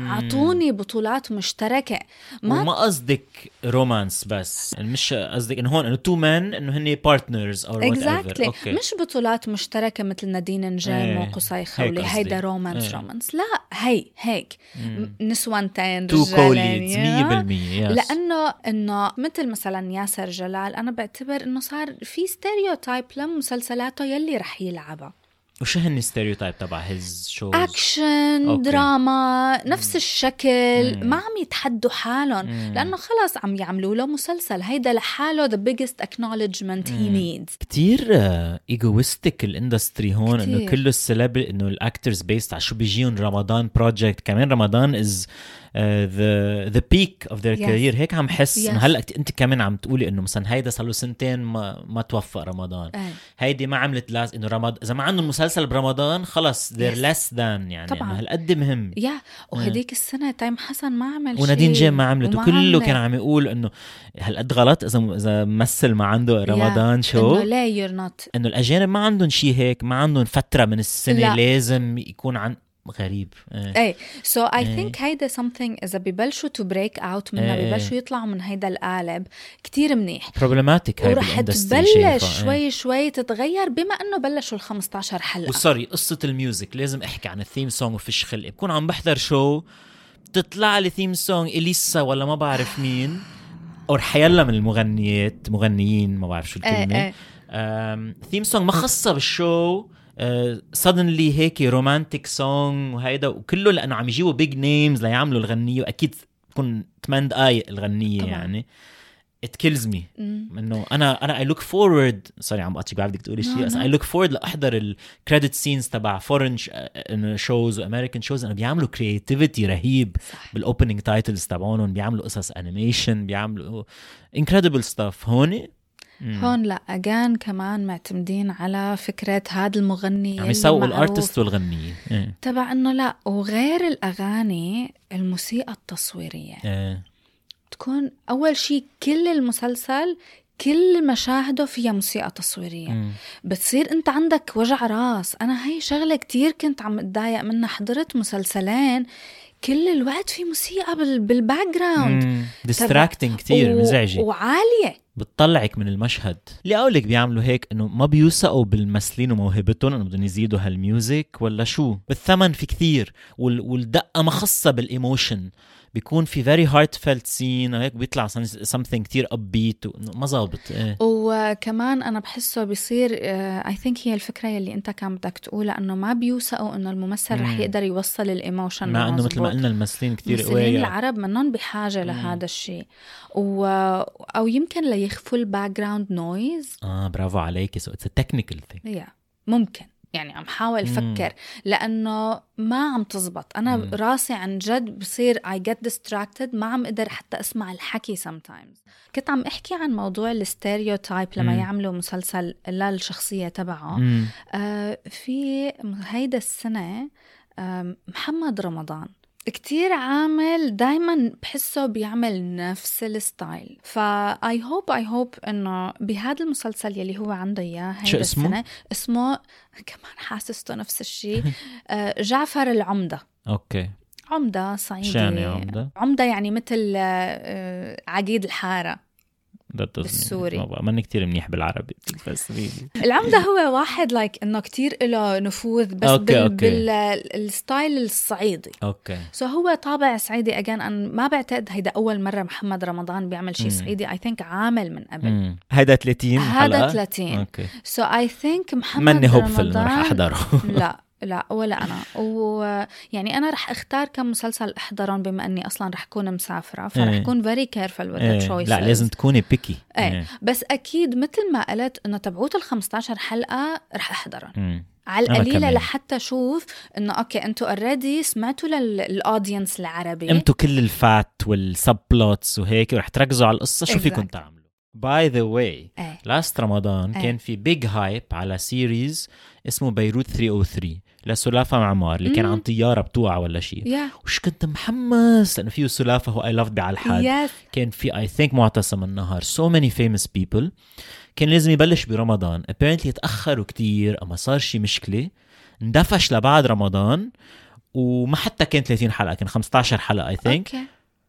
عطوني بطولات مشتركة
ما وما قصدك رومانس بس مش قصدك انه هون انه تو مان انه هني بارتنرز او وات
exactly.
ايفر
مش بطولات مشتركة مثل نادين نجام
ايه.
وقصي خولي هيدا رومانس
ايه.
رومانس لا هي هيك
مم.
نسوانتين
تو
رجالين
كوليدز مية بالمية yes.
لأنه إنه مثل مثلا ياسر جلال أنا بعتبر إنه صار في ستيريوتايب لمسلسلاته يلي رح يلعبها.
وش هن ستيريوتايب تبع هيز شوز؟
أكشن
أوكي.
دراما نفس الشكل
مم.
ما عم يتحدوا حالهم لأنه خلاص عم يعملوا له مسلسل هيدا لحاله the biggest acknowledgement he needs.
كتير ايجويستيك الاندستري هون
كتير.
انه كله السلاب انه الاكترز بيست على شو بيجيهم رمضان بروجكت. كمان رمضان از ذا ذا بيك اوف ذير كارير. هيك عم حس
yes.
انه هلا انت كمان عم تقولي انه مثلا هيدا صار له سنتين ما ما توفق رمضان
أي.
هيدي ما عملت لاز انه رمضان اذا ما عندهم مسلسل برمضان خلص they're
yes.
less than يعني
طبعا
هالقد مهم.
يا وهديك السنة تايم حسن ما عمل شيء
ونادين جيم ما عملت وكله
عملت.
كان عم يقول انه هالقد غلط اذا اذا ممثل ما عنده رمضان شو
انه لا يور نوت
انه الاجانب ما عندهم شيء هيك ما عندهم فتره من السنه
لا.
لازم يكون عن غريب ايه.
ايه سو اي
إيه.
ثينك هيدا something اذا ببلشوا تو بريك اوت منها
إيه.
ببلشوا يطلعوا من هيدا القالب كتير منيح
بروبلماتيك هاي
ورح
بالاندستري
تبلش شوي ايه. شوي تتغير بما انه بلشوا ال خمستاشر حلقه.
وصاري قصه الميوزك لازم احكي عن الثيم سونغ وفيش خلق. بكون عم بحضر شو تطلع لي ثيم سونغ اليسا ولا ما بعرف مين او حيلا من المغنيات مغنيين ما بعرف شو الكلمه ثيم سونغ ما خاصه بالشو suddenly هيك رومانتيك سونغ وهيدا وكله لأنه عم يجيبوا big names ليعملوا الغنية وأكيد تكون ثمانية دقايق الغنية طبعا. يعني it kills me إنه أنا أنا I look forward sorry عم بقطعك بعرف بدك تقولي شيء بس I look forward لأحضر ال credit scenes تبع foreign shows و American shows إنه بيعملوا creativity رهيب بال opening titles تبعونهم بيعملوا قصص animation بيعملوا incredible stuff. هوني
هون لا أجان كمان معتمدين على فكرة هذا المغني
عم يسوقوا الارتست والغنية إيه.
تبع إنه لا وغير الأغاني الموسيقى التصويرية
إيه.
تكون أول شيء كل المسلسل كل مشاهده فيها موسيقى تصويرية مم. بتصير أنت عندك وجع راس. أنا هاي شغلة كتير كنت عم اتضايق منها. حضرت مسلسلين كل الوقت في موسيقى بالباك جراوند
ديستراكتنج كتير و... مزعجة
وعالية
بتطلعك من المشهد. اللي أقولك بيعملوا هيك إنه ما بيوثقوا بالممثلين وموهبتهم إنه بدهم يزيدوا هالميوزك ولا شو. بالثمن في كثير وال... والدقة ما خصة بالإيموشن بيكون في very heartfelt scene هيك بيطلع something كتير upbeat ما ظابط إيه.
وكمان أنا بحسه بيصير uh, I think هي الفكرة يلي أنت كان بدك تقولها إنه ما بيوثقوا إنه الممثل مم. رح يقدر يوصل الإيموشن
مع إنه مثل ما قلنا الممثلين كتير
قوية العرب منهم بحاجة مم. لهذا الشيء و... أو يمكن ليخفوا الباك جراوند نويز.
آه برافو عليك. so it's a technical thing
yeah. ممكن يعني عم حاول فكر لأنه ما عم تزبط. أنا مم. راسي عن جد بصير I get distracted ما عم أقدر حتى أسمع الحكي sometimes. كنت عم أحكي عن موضوع الستيريوتايب لما مم. يعملوا مسلسل للشخصية تبعه آه في هيدا السنة آه محمد رمضان كتير عامل دايما بحسه بيعمل نفس الستايل. فا I hope I hope إنه بهذا المسلسل يلي هو عنده إياه
شو
هيدا
اسمه؟
السنة اسمه كمان حاسسته نفس الشيء آه، جعفر العمدة.
اوكي
عمدة صعيدي.
شو يعني عمدة؟
عمدة يعني مثل آه، عقيد الحارة بالسوري.
ماني كتير منيح بالعربي بس
العمدة هو واحد لايك انه كتير له نفوذ بس
أوكي،
بال
أوكي.
بالستايل الصعيدي.
اوكي
سو so هو طابع صعيدي اجان. أنا ما بعتقد هيدا اول مرة محمد رمضان بيعمل شيء صعيدي. اي ثينك عامل من قبل.
مم. هيدا ثلاثين
هذا
حلقة
ثلاثين.
اوكي
سو اي ثينك محمد
ماني هوبفل
رمضان
رح احضره.
لا لا ولا أنا. ويعني أنا رح اختار كم مسلسل احضرهم بما أني أصلا رح أكون مسافرة فرح
إيه.
أكون very careful with
إيه.
the choices.
لا لازم تكوني بيكي.
ايه بس أكيد مثل ما قلت إنه تبعوت الخمستاشر حلقة رح أحضرهم
مم.
على
أنا
القليلة
كمان.
لحتى أشوف إنه أوكي أنتوا already سمعتوا للأودينس العربي
انتوا كل الفات والسب بلوتس وهيك ورح تركزوا على القصة شو فيكم
Exactly.
تعملوا. باي ذا واي
ايه
لاست رمضان
إيه.
كان في بيج هايب على سيريز اسمه بيروت ثلاثمية وثلاثة لسلافة معمار اللي كان
مم.
عن طيارة بتوقع ولا شيء.
يا
وش كنت محمس لأنه فيه سلافة هو I loved بعلى الحد.
يس
كان في I think معتصم النهار so many famous people. كان لازم يبلش برمضان apparently يتأخروا كتير أما صار شي مشكلة اندفش لبعد رمضان وما حتى كان ثلاثين حلقة كان خمستاشر حلقة I think.
اوكي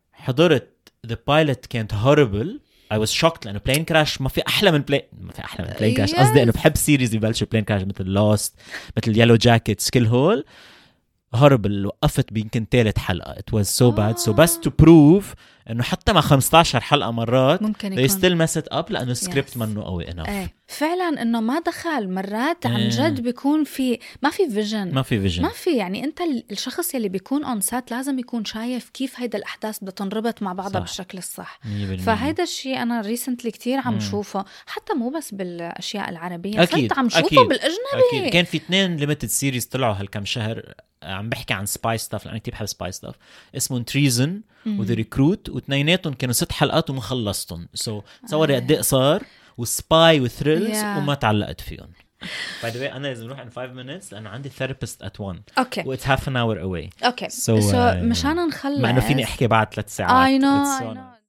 حضرت the pilot كانت horrible. I was shocked لأنه plane crash ما في أحلى من plane ما في أحلى من plane crash.
Yes.
قصدي أنه بحب سيريز يبلشوا plane crash مثل Lost مثل Yellow Jackets كل هول horrible. وقفت بيمكن ثالث حلقة it was so bad. so بس to prove إنه حتى مع خمستاشر حلقة مرات
ممكن
they
يكون
still mess it up لأنه السكريبت
Yes.
منه قوي enough.
ايه فعلا انه ما دخل مرات عن
إيه.
جد بيكون في ما في فيجن
ما في فيجن.
ما في يعني انت ال- الشخص يلي بيكون اون سات لازم يكون شايف كيف هيدا الاحداث بدها تنربط مع بعضها
صح.
بالشكل الصح.
مية بالمية.
فهيدا الشيء انا ريسنتلي كتير عم
مم.
شوفه حتى مو بس بالاشياء العربيه
أكيد،
صرت عم شوفه
أكيد.
بالاجنبي.
أكيد كان في اثنين ليميتد سيريز طلعوا هالكم شهر عم بحكي عن سباي ستاف لأنه كتير بحب سباي ستاف اسمه تريزن وذا ريكروت واثنيناتهم كانوا ست حلقات وما خلصتهم. سو so, تصوري قد ايه قصار وسباي وثريلز
Yeah.
وما تعلقت فيهم. باي ذا واي انا لازم نروح in five minutes لأنه عندي ثيرابيست at one
اوكي
و it's half an hour away.
اوكي
So,
سو so,
uh,
مشان نخلص
مع انه فيني احكي بعد ثلاث ساعات.
I know,
It's so
I know.
nice.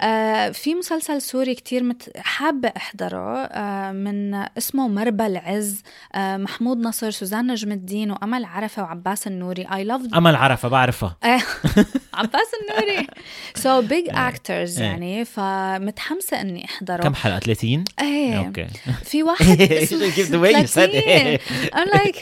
آه في مسلسل سوري كتير مت... حابة أحضره آه من اسمه مربى العز آه محمود نصر سوزان نجم الدين وأمل عرفة وعباس النوري. I loved
أمل عرفة بعرفها.
آه، عباس النوري so big actors
إيه.
يعني فمتحمسة إني أحضره.
كم حلقة ثلاثين؟
ايه
اوكي.
في واحد اسمه
Give the way you said it.
I'm like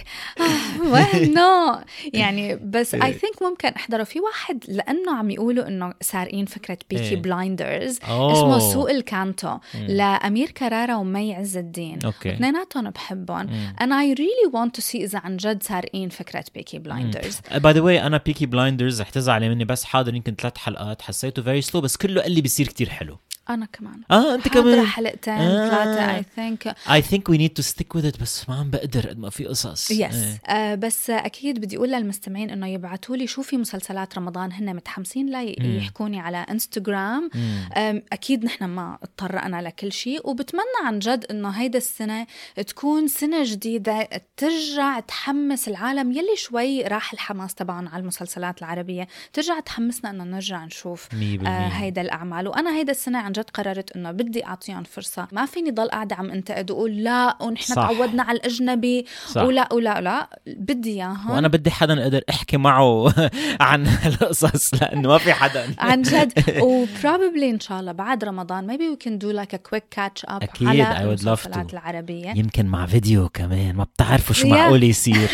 well no يعني بس I think ممكن أحضره. في واحد لأنه عم يقولوا إنه سارقين فكرة بيكي
إيه.
بلايندرز
أوه.
اسمه سوق الكانتو لأمير كرارة ومي عز الدين.
أوكي.
اثنيناتهم بحبهم and I really want to see إذا عن جد سارقين فكرة بيكي بلايندرز.
باي ذا واي انا بيكي بلايندرز رح تزعلي مني بس حاضر يمكن ثلاث حلقات حسيته فيري سلو بس كله قال لي بيصير كتير حلو.
أنا كمان
اه انت
حاضرة
كمان
حلقتين
آه.
ثلاثة I think
I think we need to stick with it بس ما عم بقدر قد ما في قصص.
يس
إيه.
آه بس أكيد بدي أقول للمستمعين إنه يبعتوا لي شو في مسلسلات رمضان هن متحمسين لا ي- يحكوني على إنستغرام. آم، أكيد نحن ما اضطرقنا لكل شيء وبتمنى عن جد إنه هيدا السنة تكون سنة جديدة ترجع تحمس العالم يلي شوي راح الحماس تبعهم على المسلسلات العربية ترجع تحمسنا إنه نرجع نشوف
مية
آه
بالمية.
هيدا الأعمال. وأنا هيدا السنة عن جد قررت إنه بدي أعطيهم فرصة. ما فيني ضل قاعدة عم انتقد وقول لا ونحن
صح.
تعودنا على الأجنبي
صح.
ولا ولا لا بدي إياهم
وانا بدي حدا اقدر احكي معه عن القصص لانه ما في حدا
عن جد. و probably إن شاء الله بعد رمضان maybe we can do like a quick catch up
أكيد.
على
I would love
المسلسلات
to.
العربية.
يمكن مع فيديو كمان ما بتعرفوا شو
Yeah.
معقول يصير.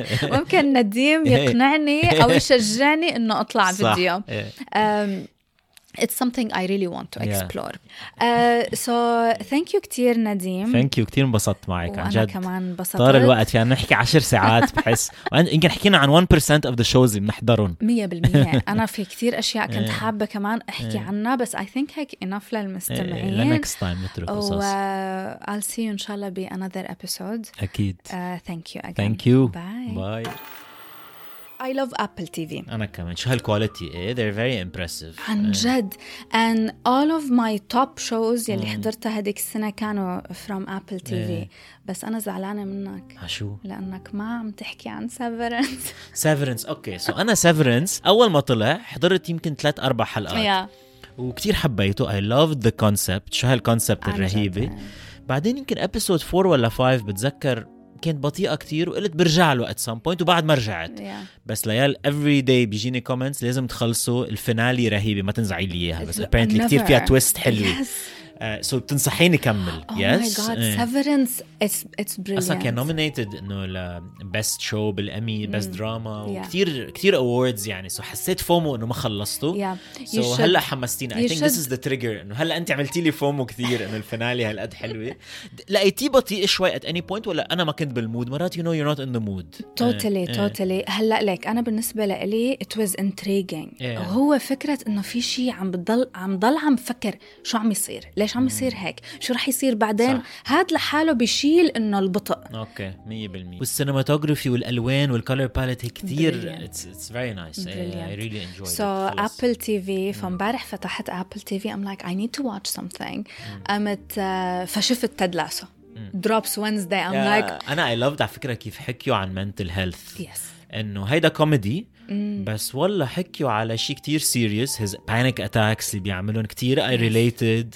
ممكن نديم يقنعني أو يشجعني إنه أطلع
صح.
فيديو.
إيه.
um, It's something I really want to
Yeah.
explore. Uh, so thank you كتير نديم.
ثانك يو كتير انبسطت معك عن
وأنا
جد.
كمان انبسطت.
طار الوقت فينا نحكي عشر ساعات بحس يمكن حكينا عن one percent of the shows اللي بنحضرهم.
مية بالمية. أنا في كتير أشياء كنت
إيه.
حابة كمان أحكي
إيه.
عنها بس I think هيك enough للمستمعين.
لنكست تايم نترك
و
قصص.
I'll see you إن شاء الله ب another episode.
أكيد.
Uh, thank you again.
Thank you.
Bye.
Bye.
I love Apple تي في.
انا كمان شو هالكواليتي ايه they're very impressive
عن جد. and all of my top shows يلي حضرتها هديك السنة كانوا from Apple تي في. بس أنا زعلانة منك.
شو؟
لأنك ما عم تحكي عن Severance.
Severance اوكي سو انا Severance اول ما طلع حضرت يمكن ثلاث اربع حلقات
yeah.
وكتير حبيته. I loved the concept. شو هالكونسبت الرهيبة. بعدين يمكن episode four ولا five بتذكر كانت بطيئة كتير وقلت برجع له at some point وبعد ما رجعت.
yeah.
بس ليال every day بيجيني comments لازم تخلصوا الفينالي رهيبة ما تنزعي لي إياها بس apparently كتير فيها twist حلوة.
yes.
سو uh, so بتنصحيني كمل.
oh
yes
my god uh. Severance it's it's brilliant.
اصلا كان nominated انه ل best show بالامي best drama
yeah.
وكتير كتير awards يعني سو so حسيت فومو انه ما خلصته.
yeah.
سو so هلا حمستيني. I think
should.
this is the trigger انه هلا انت عملتي لي فومو كتير انه الفينالي هالقد حلوه. لقيتيه بطيء شوي at any point ولا انا ما كنت بالمود؟ مرات you know you're not in the mood.
totally uh, totally. هلا لك انا بالنسبه لي it was intriguing. yeah. وهو فكره انه في شيء عم بضل عم ضل عم فكر شو عم يصير ليش عم يصير هيك شو رح يصير بعدين. هاد لحاله بيشيل انه البطء.
اوكي مية بالمية. والسينماتوغرافي والالوان والكولر باليت كتير it's it's very nice. I really enjoyed it.
so Apple تي في فمبارح فتحت Apple تي في I'm like I need to watch something. قمت uh, فشفت تيد لاسو drops Wednesday. I'm
yeah,
like
انا I loved على فكرة كيف حكيوا عن mental health.
yes.
انه هيدا كوميدي بس والله حكيوا على شيء كتير serious. his panic attacks اللي بيعملون كتير I related.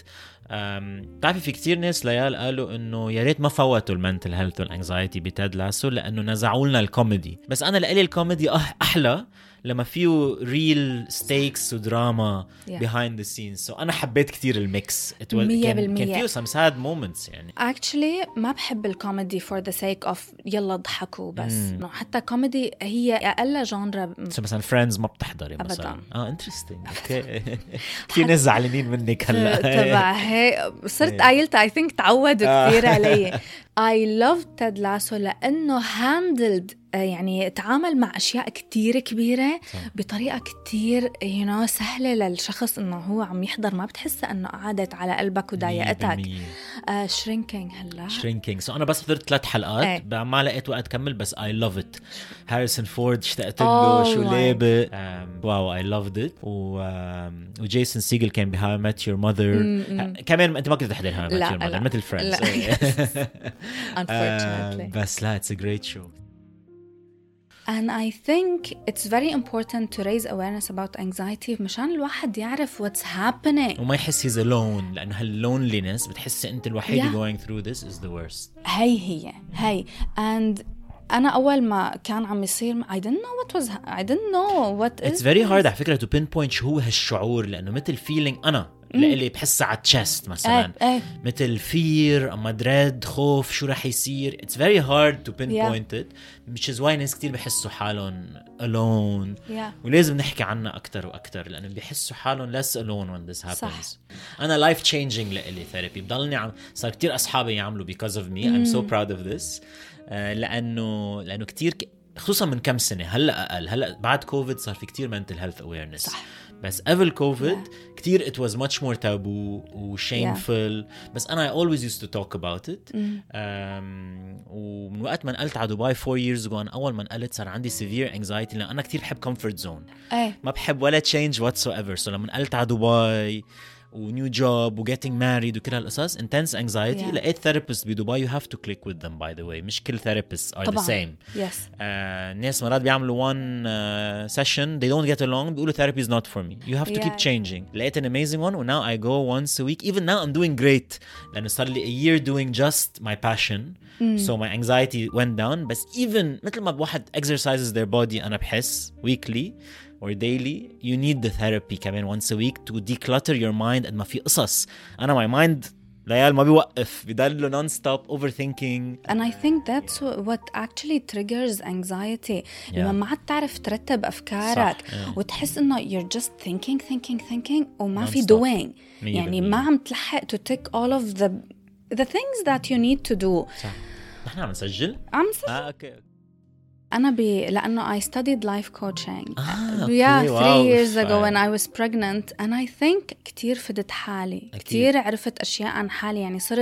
بتعرفي في كتير ناس ليال قالوا انه يا ريت ما فوتوا المنتل هيلث والانكزايتي بتاد لاسو لانه نزعوا لنا الكوميدي. بس انا لقلي الكوميدي احلى لما فيه real stakes ودراما yeah. behind the scenes. so انا حبيت كتير الميكس. كان, كان فيه some sad moments يعني.
actually ما بحب الكوميدي for the sake of يلا ضحكوا بس. no, حتى كوميدي هي أقل جانرا.
so مثلا فريندز ما بتحضري مثلا. اه interesting. اوكي في ناس زعلانين منك هلا
تبع هي صرت قايلت I think تعودوا كثير علي. I love تيد لاسو لأنه handled يعني تعامل مع أشياء كتير كبيرة بطريقة كتير you know سهلة للشخص إنه هو عم يحضر ما بتحس إنه قعدت على قلبك وضايقتك. uh, shrinking هلا
shrinking. so أنا بس حضرت ثلاث حلقات ايه. ما لقيت وقت كمل بس I love it. هاريسون فورد اشتقت له oh شو لابق. واو I loved it. و um, وجيسون سيجل كان ب How I Met Your Mother. م- م- كمان أنت ما كنت تحضر How I Met Your Mother مثل Friends.
unfortunately.
uh, بس لا it's a great show.
And I think it's very important to raise awareness about anxiety مشان الواحد يعرف what's happening
وما يحس he's alone لأنه هالloneliness بتحس أنت الوحيد yeah. going through this is the worst.
هي هي هي and أنا أول ما كان عم يصير I didn't know what was I didn't know what
it's very hard على فكرة to pinpoint شو هو هالشعور لأنه مثل feeling أنا اللي بحس على الchest مثلا
أي. أي.
مثل fear أما dread خوف شو رح يصير. it's very hard to pinpoint yeah. it which is why ناس كتير بحسوا حالهم alone
yeah.
ولازم نحكي عنها أكتر وأكتر لأنه بيحسوا حالهم less alone when this happens.
صح.
أنا life changing لإلي therapy بضلني عم صار كتير أصحابي يعملوا because of me. mm. I'm so proud of this. uh, لأنه لأنه كتير ك... خصوصا من كم سنة هلأ أقل هلأ بعد كوفيد صار في كتير mental health awareness. صح. بس قبل كوفيد yeah. كتير it was much more taboo و shameful. yeah. بس أنا I always used to talk about it. mm. um, ومن وقت ما نقلت على دبي four years ago أنا أول ما نقلت صار عندي severe anxiety لأن أنا كتير بحب comfort zone.
أي.
ما بحب ولا change whatsoever. so لما نقلت على دبي و new job و getting married وكل هالقصص intense anxiety yeah. لقيت therapist بدبي you have to click with them by the way مش كل therapists are طبعا. the same.
yes.
uh, ناس مرات بيعملوا one uh, session they don't get along بيقولوا therapy is not for me. you have to yeah. keep changing. لقيت an amazing one and now I go once a week. even now I'm doing great لأنه صار لي a year doing just my passion. mm. so my anxiety went down. بس even مثل ما بواحد exercises their body أنا بحس weekly or daily you need the therapy كمان once a week to declutter your mind. قد ما في قصص أنا my mind ليال ما بيوقف بيضل non-stop overthinking.
and I think that's what actually triggers anxiety. yeah. لما ما عاد تعرف ترتب أفكارك yeah. وتحس إنه you're just thinking thinking thinking وما في doing يعني ما عم تلحق to tick all of the the things that you need to do.
صح. نحن عم نسجل
عم نسجل
آه, okay.
أنا بي لأنه I studied life coaching
ah,
yeah
okay.
three
wow,
years ago when I was pregnant and I think كتير فدت حالي. كتير عرفت أشياء عن حالي يعني صرت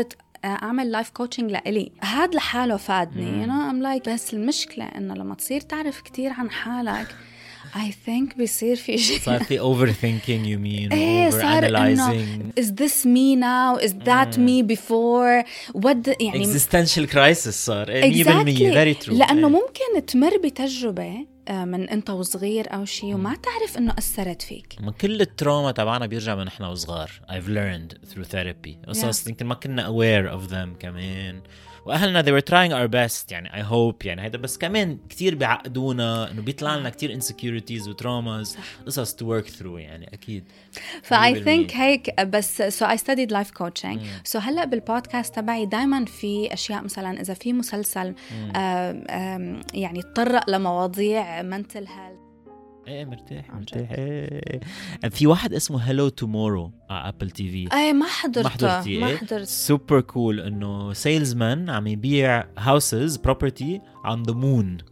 أعمل لايف كوتشنج لإلي. هاد لحاله فادني. you know I'm like بس المشكلة إنه لما تصير تعرف كتير عن حالك I think بيصير في شيء
صار في overthinking you mean
إيه
over
صار إنه
analyzing
is this me now is that me before what the, يعني
existential crisis صار إيه مية بالمية very true
لأنه
إيه.
ممكن تمر بتجربة من أنت وصغير أو شيء وما تعرف إنه أثرت فيك.
من كل التروما تبعنا بيرجع من إحنا وصغار. I've learned through therapy. قصص يمكن ما كنا aware of them كمان. وأهلنا they were trying our best يعني I hope يعني هيدا بس كمان كتير بيعقدونا إنه بيطلع لنا كتير insecurities و traumas قصص to work through يعني أكيد.
ف I think هيك بس so I studied life coaching. so هلأ بالبودكاست تبعي دايما في أشياء مثلا إذا في مسلسل آم آم يعني تطرق لمواضيع mental health
ايه مرتاح مرتاح ايه. في واحد اسمه هلو تومورو على ابل تي في.
ايه ما حضرته
ما حضرتي
ما
ايه
حضرت.
سوبر كول انه سيلزمان عم يبيع هاوسز بروبرتي on the moon.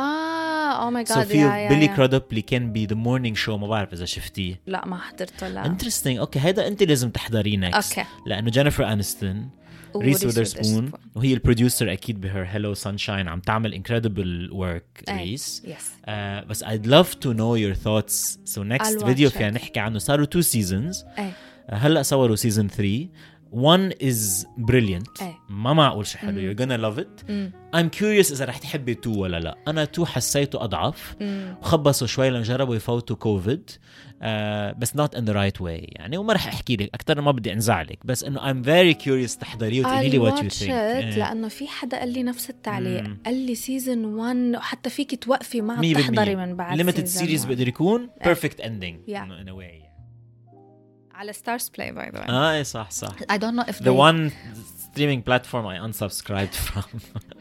اه او ماي
so
جاد
في بيلي كرودب اللي كان بي ذا مورنينج شو ما بعرف اذا شفتيه.
لا ما حضرته لا.
انترستينج اوكي هيدا انت لازم تحضريه نكست
اوكي
لانه جينيفر انستون ريس ويذرسبون وهي البروديوسر اكيد بهر هلو سانشاين عم تعمل انكريدبل ورك ريس.
yes.
uh, بس I'd love to know your thoughts. so next فيديو فينا نحكي عنه. صاروا two seasons.
أي.
هلا صوروا season three. one is brilliant.
أي.
ما معقول شي حلو. you're gonna love it.
مم.
I'm curious إذا رح تحبي two ولا لا. أنا two حسيته أضعف. خبصوا شوي لنجربوا يفوتوا كوفيد. Uh, بس not in the right way يعني. وما رح أحكي لك أكتر ما بدي أنزعلك بس إنه I'm very curious تحضريه وتقولي لي what you think.
إيه. لأنه في حدا قال لي نفس التعليق.
مم.
قال لي season one وحتى فيك توقفي ما عم تحضري من بعد
limited series بقدر يكون perfect ending
yeah.
in a way.
على Stars Play by the way.
آه إيه صح صح.
I don't know if
the
they...
one streaming platform I unsubscribed from.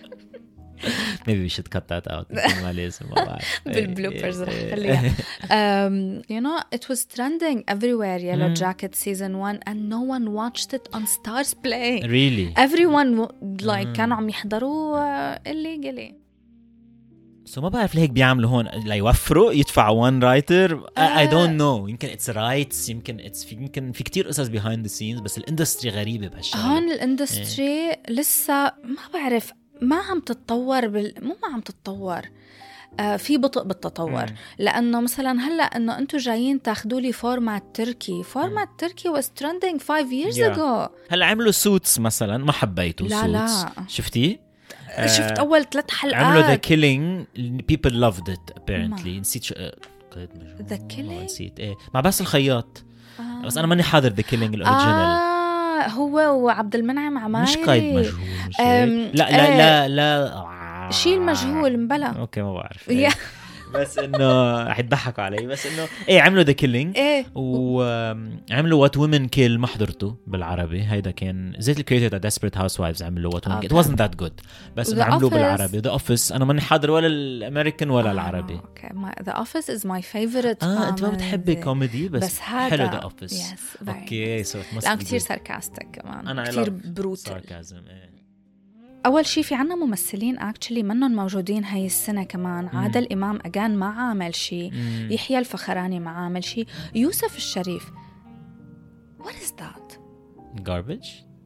maybe we should cut that out. ما لازم ما بعرف.
بالبلوبرز رح خليها. um, you know it was trending everywhere Yellow Jacket season one and no one watched it on Stars Play.
really
everyone like كانوا عم يحضروا illegally.
so ما بعرف ليه هيك بيعملوا هون ليوفروا يدفعوا one writer. I, I don't know. يمكن it's rights يمكن it's في يمكن في كتير قصص behind the scenes بس الاندستري غريبة بهالشغلة.
هون الاندستري لسه ما بعرف ما عم تتطور بال... مو ما عم تتطور آه في بطء بالتطور. مم. لأنه مثلا هلأ أنه أنتوا جايين تاخدوا لي فورمات تركي. فورمات تركي was trending five years yeah. ago.
هلأ عملوا سوتس مثلا ما حبيته.
لا
suits.
لا
شفتيه؟
آه شفت أول ثلاث حلقات.
عملوا The Killing people loved it apparently. نسيت شو قيد مجهول.
The Killing
نسيت إيه مع بس الخياط.
آه.
بس أنا ماني حاضر The Killing الأوريجينال.
آه هو وعبد المنعم عمايري.
مش قيد مجهول مش لا لا لا لا
شيء المجهول مبلا.
اوكي ما بعرف إيه. بس انه حيضحكوا علي بس انه ايه عملوا ذا كيلينج
ايه
وعملوا وات وومن كيل ما حضرته بالعربي. هيدا كان زيت الكريتور تاع ديسبريت هاوس وايفز عملوا وات وومن كيل. It wasn't that good بس عملوا بالعربي. ذا اوفيس انا ماني حاضر ولا الامريكان ولا العربي.
اوكي ذا اوفيس از ماي فيفورت.
اه انت ما بتحبي كوميدي بس,
بس هذا
حلو ذا اوفيس.
yes,
اوكي سو
لا كتير ساركاستيك كمان.
أنا
كتير بروتال.
إيه.
أول شي في عنا ممثلين actually منهم موجودين هاي السنة كمان. مم. عادل إمام أجان ما عامل شي. مم. يحيى الفخراني ما عامل شي. يوسف الشريف what is that
garbage.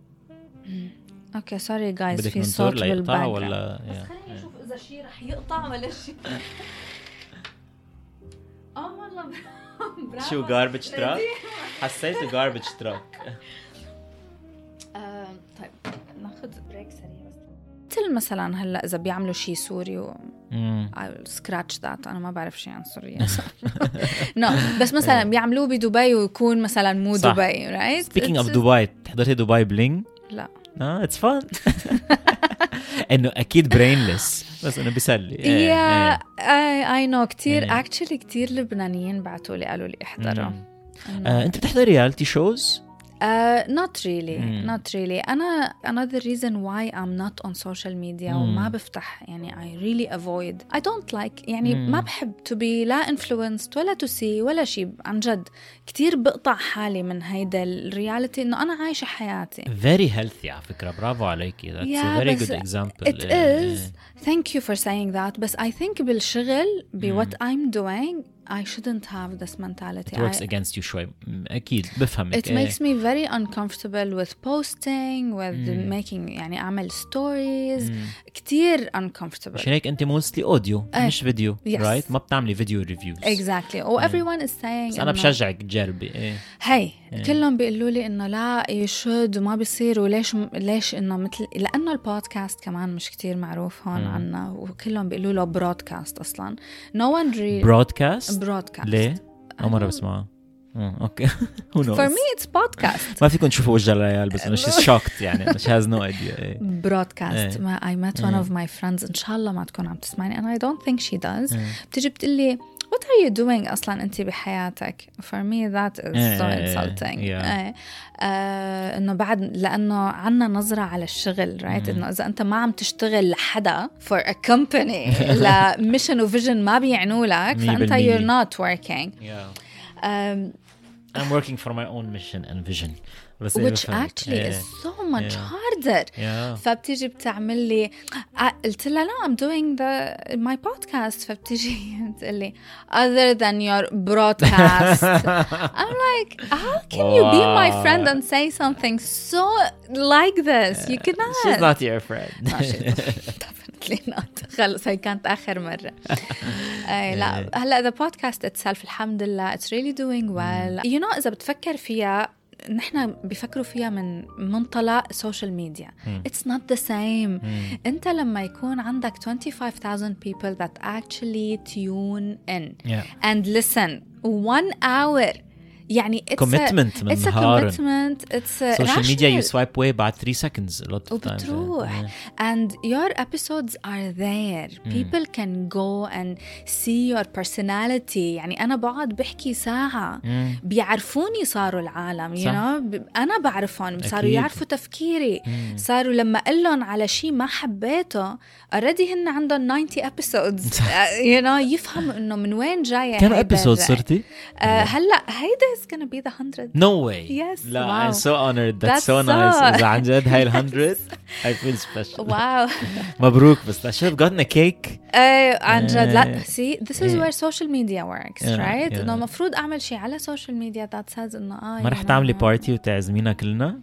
اوكي سوري جايز في صوت بالباك
ولا
بس خليني اشوف اذا شي رح يقطع ولا شي. اه والله برافو.
شو garbage truck حسيته garbage truck.
طيب ناخذ بريك سريع بس. مثل مثلا هلا اذا بيعملوا شيء سوري و I'll scratch that. انا ما بعرف شيء عن سوريا. نو no. بس مثلا بيعملوه بدبي ويكون مثلا مو
صح.
دبي right.
Speaking of دبي تحضرتي دبي بلينج؟
لا
اه it's fun. انه اكيد brainless بس انه بيسلي.
yeah I I know كتير actually كتير لبنانيين بعتوا لي قالوا لي احضروا.
انت بتحضري رياليتي شوز؟
Uh, not really
mm.
not really أنا another reason why I'm not on social media mm. وما بفتح يعني I really avoid I don't like يعني mm. ما بحب to be لا influenced ولا to see ولا شيء. عن جد كتير بقطع حالي من هيدا الرياليتي إنه أنا عايشة حياتي.
very healthy على فكرة. برافو عليكي. that's
yeah,
a very good example.
it is thank you for saying that. بس I think بالشغل ب what I'm doing I shouldn't have this mentality.
It works
I,
against you شوي. أكيد بفهمك.
It makes me very uncomfortable with posting, with
Mm.
making يعني أعمل stories.
Mm.
كتير uncomfortable.
عشان هيك أنت mostly audio
إيه.
مش فيديو
Yes.
right؟ ما بتعملي فيديو reviews.
Exactly. Oh, everyone is saying.
بس أنا
إنه-
بشجعك تجربي. إيه.
هي كلهم بيقولوا لي إنه لا you should وما بيصير وليش ليش إنه مثل لأنه البودكاست كمان مش كتير معروف هون عنا وكلهم بيقولوا له برودكاست أصلاً. No one really.
broadcast.
broadcast.
ليه؟ أول مرة بسمعها. أه أوكي. Who knows?
For me it's podcast.
ما فيكم تشوفوا وجه الريال بس إنه she's shocked يعني she has no idea. إيه.
broadcast. ما I met one of my friends إن شاء الله ما تكون عم تسمعني and I don't think she does. بتيجي بتقلي what are you doing أصلاً أنت بحياتك. For me that is so insulting.
Yeah.
آه إنه بعد لأنه عنا نظرة على الشغل right إنه إذا أنت ما عم تشتغل لحدا for a company لا mission و vision ما بيعنوا لك فأنت you're not working.
Yeah.
Um,
I'm working for my own mission and vision. بس
which actually is so much
Yeah.
harder.
Yeah.
فبتيجي بتعمل لي قلت لها لا I'm doing the my podcast فبتيجي بتقول لي other than your broadcast. I'm like how can you be my friend and say something so like this? You cannot.
She's not your friend.
No, she's definitely not. خلص هي كانت آخر مرة. أي لا هلا the podcast itself الحمد لله it's really doing well. You know إذا بتفكر فيها نحن بيفكروا فيها من منطلق social media. It's not the same. أنت لما يكون عندك twenty-five thousand people that actually tune in
Yeah.
and listen one hour يعني it's
Commitment
a,
من
it's a
نهار.
commitment. It's a
Social media you
rational.
swipe away بعد three seconds a lot of times.
وبتروح
Yeah.
and your episodes are there. People can go and see your personality. يعني أنا بقعد بحكي ساعة بيعرفوني صاروا العالم you
صح.
know ب- أنا بعرفهم صاروا
أكيد.
يعرفوا تفكيري صاروا لما قلن على شيء ما حبيته already هن عندهم ninety episodes uh, you know يفهموا إنه من وين جاية
كم
هيدا
episode
الرأي.
صرتي؟
uh, هلا هيدا is gonna be the hundred.
No way.
Yes.
لا
Wow.
I'm so honored. That's,
That's
so nice.
so-
إذا عن جد هاي الهندرد I feel special.
واو
مبروك بس I should have gotten a cake.
ايه عن جد لا
Eh,
see this is
eh.
where social media works
Yeah,
right
yeah.
انه المفروض اعمل شيء على social media that says انه اه
ما رح تعملي بارتي وتعزمينا كلنا؟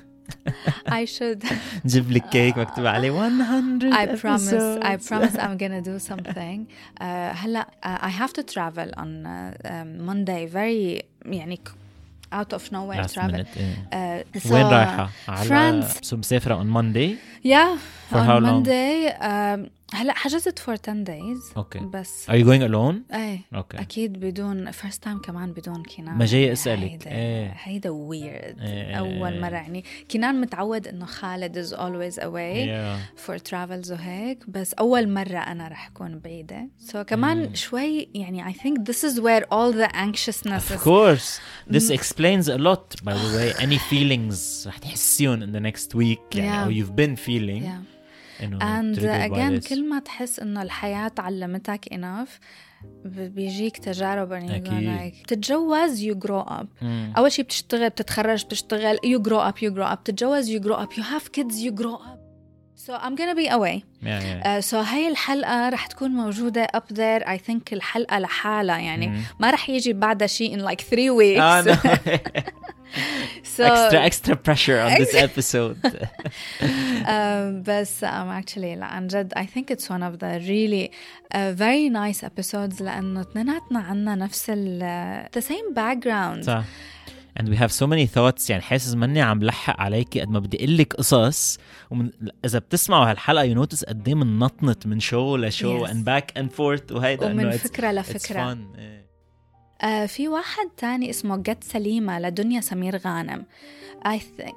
I should
نجيب لك كيك مكتوب عليه one hundred
I promise I
episodes.
promise I'm gonna do something uh, هلا uh, I have to travel on uh, um, Monday very يعني ك- out of nowhere
Last
travel
minute, إيه.
uh, so
وين رايحة؟ على
France.
سو مسافرة on Monday.
yeah
For
on
how long?
Monday um, هلا حجزت for ten days
Okay.
بس
Are you going alone?
ايه
Okay.
اكيد بدون first time كمان بدون كنان
ما جاي
يعني
أسألك.
هيدا,
إيه.
هيدا weird
إيه.
اول مره يعني كنان متعود انه خالد is always away
Yeah.
for travels وهيك بس اول مره انا رح اكون بعيده so كمان شوي يعني I think this is where all the anxiousness
Of
is
course. This explains a lot by the way. Any feelings رح تحسيهم in the next week يعني
Yeah.
أو you've been feeling.
yeah.
إنه
and
triggered by
again
this.
كل ما تحس انه الحياه علمتك enough ب- بيجيك تجارب and you go
أكيد.
like تتجوز you grow up
مم.
أول شيء بتشتغل بتتخرج بتشتغل you grow up you grow up تتجوز you grow up you have kids you grow up so I'm gonna be away
Yeah, yeah.
uh, so هاي الحلقة رح تكون موجودة up there I think الحلقة لحالها يعني
مم.
ما رح يجي بعدها شيء in like three weeks
آه, no.
so
extra extra pressure on this episode.
um, بس I'm actually لا عن جد I think it's one of the really uh, very nice episodes لأنه اثنيناتنا عنا نفس ال the same background
صح. And we have so many thoughts يعني حاسس مني عم لحق عليكي قد ما بدي أقول لك قصص ومن إذا بتسمعوا هالحلقة you notice قد إيه من نطنت من شو لشو
Yes.
and back and forth وهيدا
ومن
إنه it's-
فكرة
it's
لفكرة
fun. إيه.
آه في واحد تاني اسمه جت سليمة لدنيا سمير غانم I think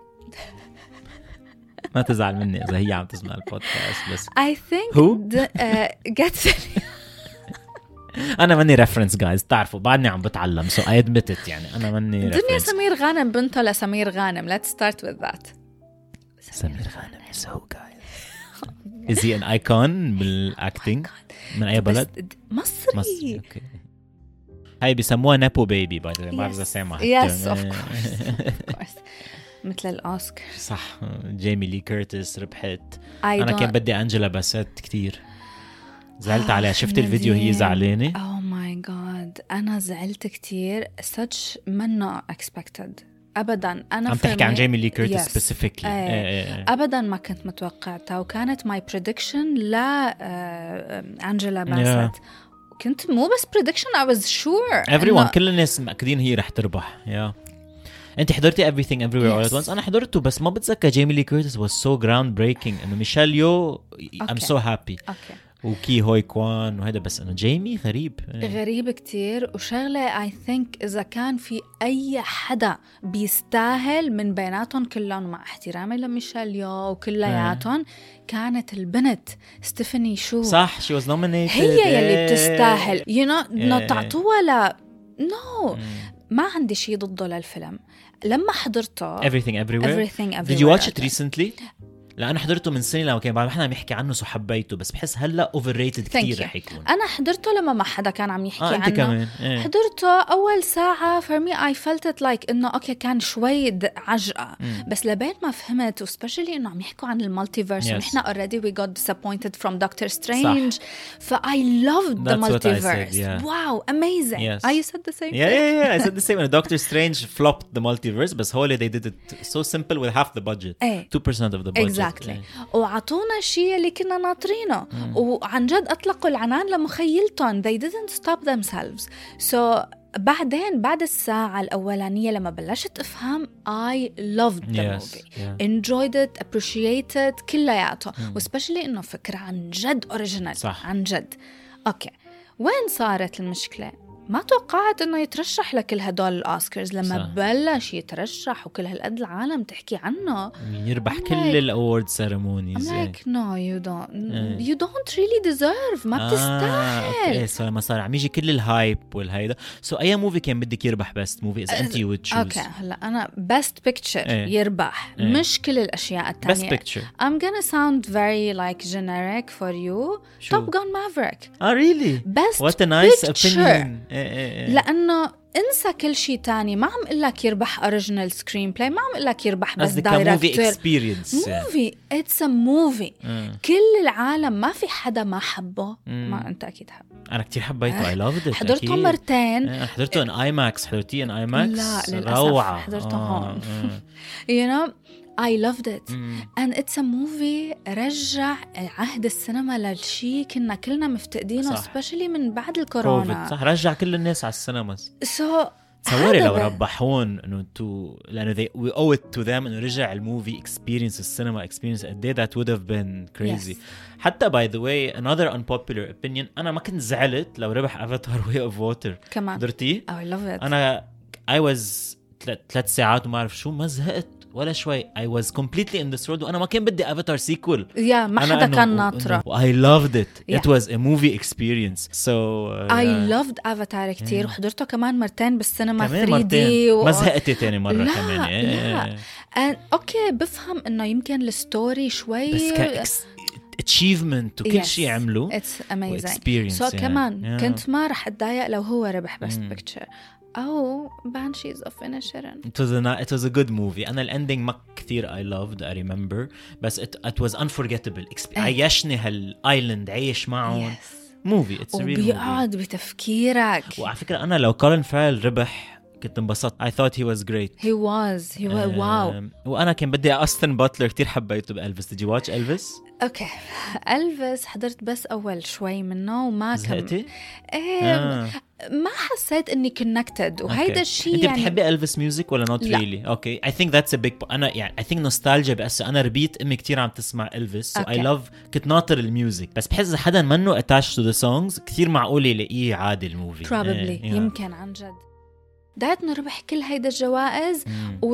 ما تزعل مني إذا هي عم تسمع البودكاست بس
I think
Who?
د- آه جت سليمة
أنا مني reference guys تعرفوا بعدني عم بتعلم so I admit it يعني أنا مني
دنيا
reference.
سمير غانم بنته لسمير غانم let's start with that
سمير غانم is who guys is he an icon بالacting من أي
بس
بلد؟
د- مصري
مصري أوكي. هاي بيسموها نابو بيبي باي ذا واي ما بعرف إذا
Yes.
سامع
Yes, of course. Of course. مثل الأوسكار
صح جيمي لي كيرتس ربحت
I
انا
don't-
كان بدي انجلا باسيت كتير زعلت
آه،
عليها شفت الفيديو هي
نادين.
زعلانه
Oh my ماي جاد أنا زعلت كتير such منه expected أبداً. أنا
عم تحكي عن جيمي لي كيرتس
yes.
specifically.
ايه.
ايه ايه.
أبداً ما كنت متوقعتها وكانت my prediction لا أنجيلا باسيت yeah. كنت مو بس prediction I was sure
everyone إنه... كل الناس مأكدين هي رح تربح يا yeah. انت حضرتي everything everywhere yes. all at once. انا حضرته بس ما بتذكر. جيمي لي كيرتس was so groundbreaking انه ميشيل يو okay. I'm so happy
okay.
وكي هوي كوان وهذا بس انه جيمي غريب
غريب كتير. وشغله I think اذا كان في اي حدا بيستاهل من بيناتهم كلهم مع احترامي لميشيل يو وكلياتهم كانت البنت ستيفاني شو
صح she was nominated
هي يلي بتستاهل you know انه تعطوها لا no ما عندي شيء ضده للفيلم لما حضرته
everything everywhere.
everything everywhere
did you watch it recently؟ لا أنا حضرته من سنة لما كان بعد احنا عم يحكي عنه سو حبيته بس بحس هلا overrated كتير رح يكون.
أنا حضرته لما ما حدا كان عم يحكي
آه
عنه
كمان. إيه.
حضرته أول ساعة for me I felt it like إنه أوكي كان شوي عجقة مم. بس لبين ما فهمت وسبيشلي إنه عم يحكوا عن المالتيفيرس yes. ونحنا already we got disappointed from Doctor Strange ف I loved the multiverse yeah. wow amazing
yes.
ah, you said the same
yeah,
thing
yeah yeah I said the same and Doctor Strange flopped the multiverse بس هو they did it so simple with half the budget
ايه.
two percent of the budget
exactly ايه. وعطونا الشيء اللي كنا ناطرينه mm. وعن جد أطلقوا العنان لمخيلتهم they didn't stop themselves so بعدين بعد الساعة الأولانية لما بلشت أفهم I loved the
yes,
movie
yeah.
enjoyed it appreciated كلياته mm. وسبيشلي إنه فكرة عن جد original
صح.
عن جد أوكي وين صارت المشكلة ما توقعت إنه يترشح لكل هدول الأوسكارز لما صح. بلش يترشح وكل هالقد العالم تحكي عنه
يربح I'm كل like, الأورد سيرمونيز
I'm like no you don't mm. you don't really deserve ما آه بتستاهل.
okay. so لما صار عم يجي كل الهايب والهيدا so أي موفي كان بدك يربح best movie إذا أنت you would choose.
okay هلا أنا best picture ايه. يربح ايه. مش كل الأشياء التانية.
best picture
I'm gonna sound very like generic for you شو? Top Gun Maverick.
ah really
best
what a nice
picture.
opinion إيه إيه إيه.
لأنه انسى كل شيء تاني ما عم اقول لك يربح اوريجينال سكرين بلاي ما عم اقول لك يربح بس دايركتور
موفي اكسبيرينس
موفي اتس ا موفي كل العالم ما في حدا ما حبه مم. ما انت اكيد حب
انا كتير حبيته اي لافد ات
حضرته مرتين
حضرته ان اي ماكس حضرتيه ان اي ماكس
لا للاسف
روعه
حضرته هون you know I loved it mm. and it's a movie رجع عهد السينما للشي كنا كلنا مفتقدينه especially من بعد الكورونا
صح رجع كل الناس على السينما
so
تصوري لو ربحون انه تو لانه they we owe it to them انه رجع الموفي experience السينما experience a day that would have been crazy yes. حتى by the way another unpopular opinion انا ما كنت زعلت لو ربح افاتار way of water
كمان
حضرتيه
I love it
انا I was ثلاث ساعات وما أعرف شو ما زهقت ولا شوي I was completely in this world وأنا ما كان بدي أفاتار سيكول
يا ما حدا كان ناطرة
I loved it yeah. It was a movie experience so uh,
I yeah. loved Avatar كتير yeah. وحضرته كمان مرتين بالسينما
كمان
ثري دي
و... ما زهقتي تاني مرة
لا
كمان
لا and, أوكي بفهم إنه يمكن الستوري شوي
بس كأكس achievement وكل yes. شيء عملوا
it's amazing
experience
so
yeah.
كمان
yeah.
كنت ما رح أتضايق لو هو ربح best mm. picture أو Banshees of Inisherin.
It was a it was a good movie. أنا الending ما كثير I loved I remember بس it it was unforgettable. Exp- عيشني هالآيلاند عيش معهم. Yes. Movie it's a real movie.
وبيقعد بتفكيرك.
وعلى فكرة أنا لو كولين فارل ربح كنت انبسطت. I thought he was great.
He was. He was. Wow.
وأنا كان بدي أستن باتلر كتير حبيته بألفيس. Did you watch Elvis?
اوكي ألفيس حضرت بس اول شوي منه وما كم
زهقتي؟
ايه آه. ما حسيت اني كونكتد وهيدا الشيء
انت
يعني
بتحبي ألفيس ميوزك ولا نوت ريلي؟ اوكي I think that's a big انا يعني I think nostalgia بس انا ربيت امي كتير عم تسمع ألفيس so okay. I love كنت ناطر الميوزك بس بحس اذا حدا منه attached to the songs كتير معقول يلاقيه عادي الموفي
probably
yeah.
يمكن عن جد دايت انه ربح كل هيدا الجوائز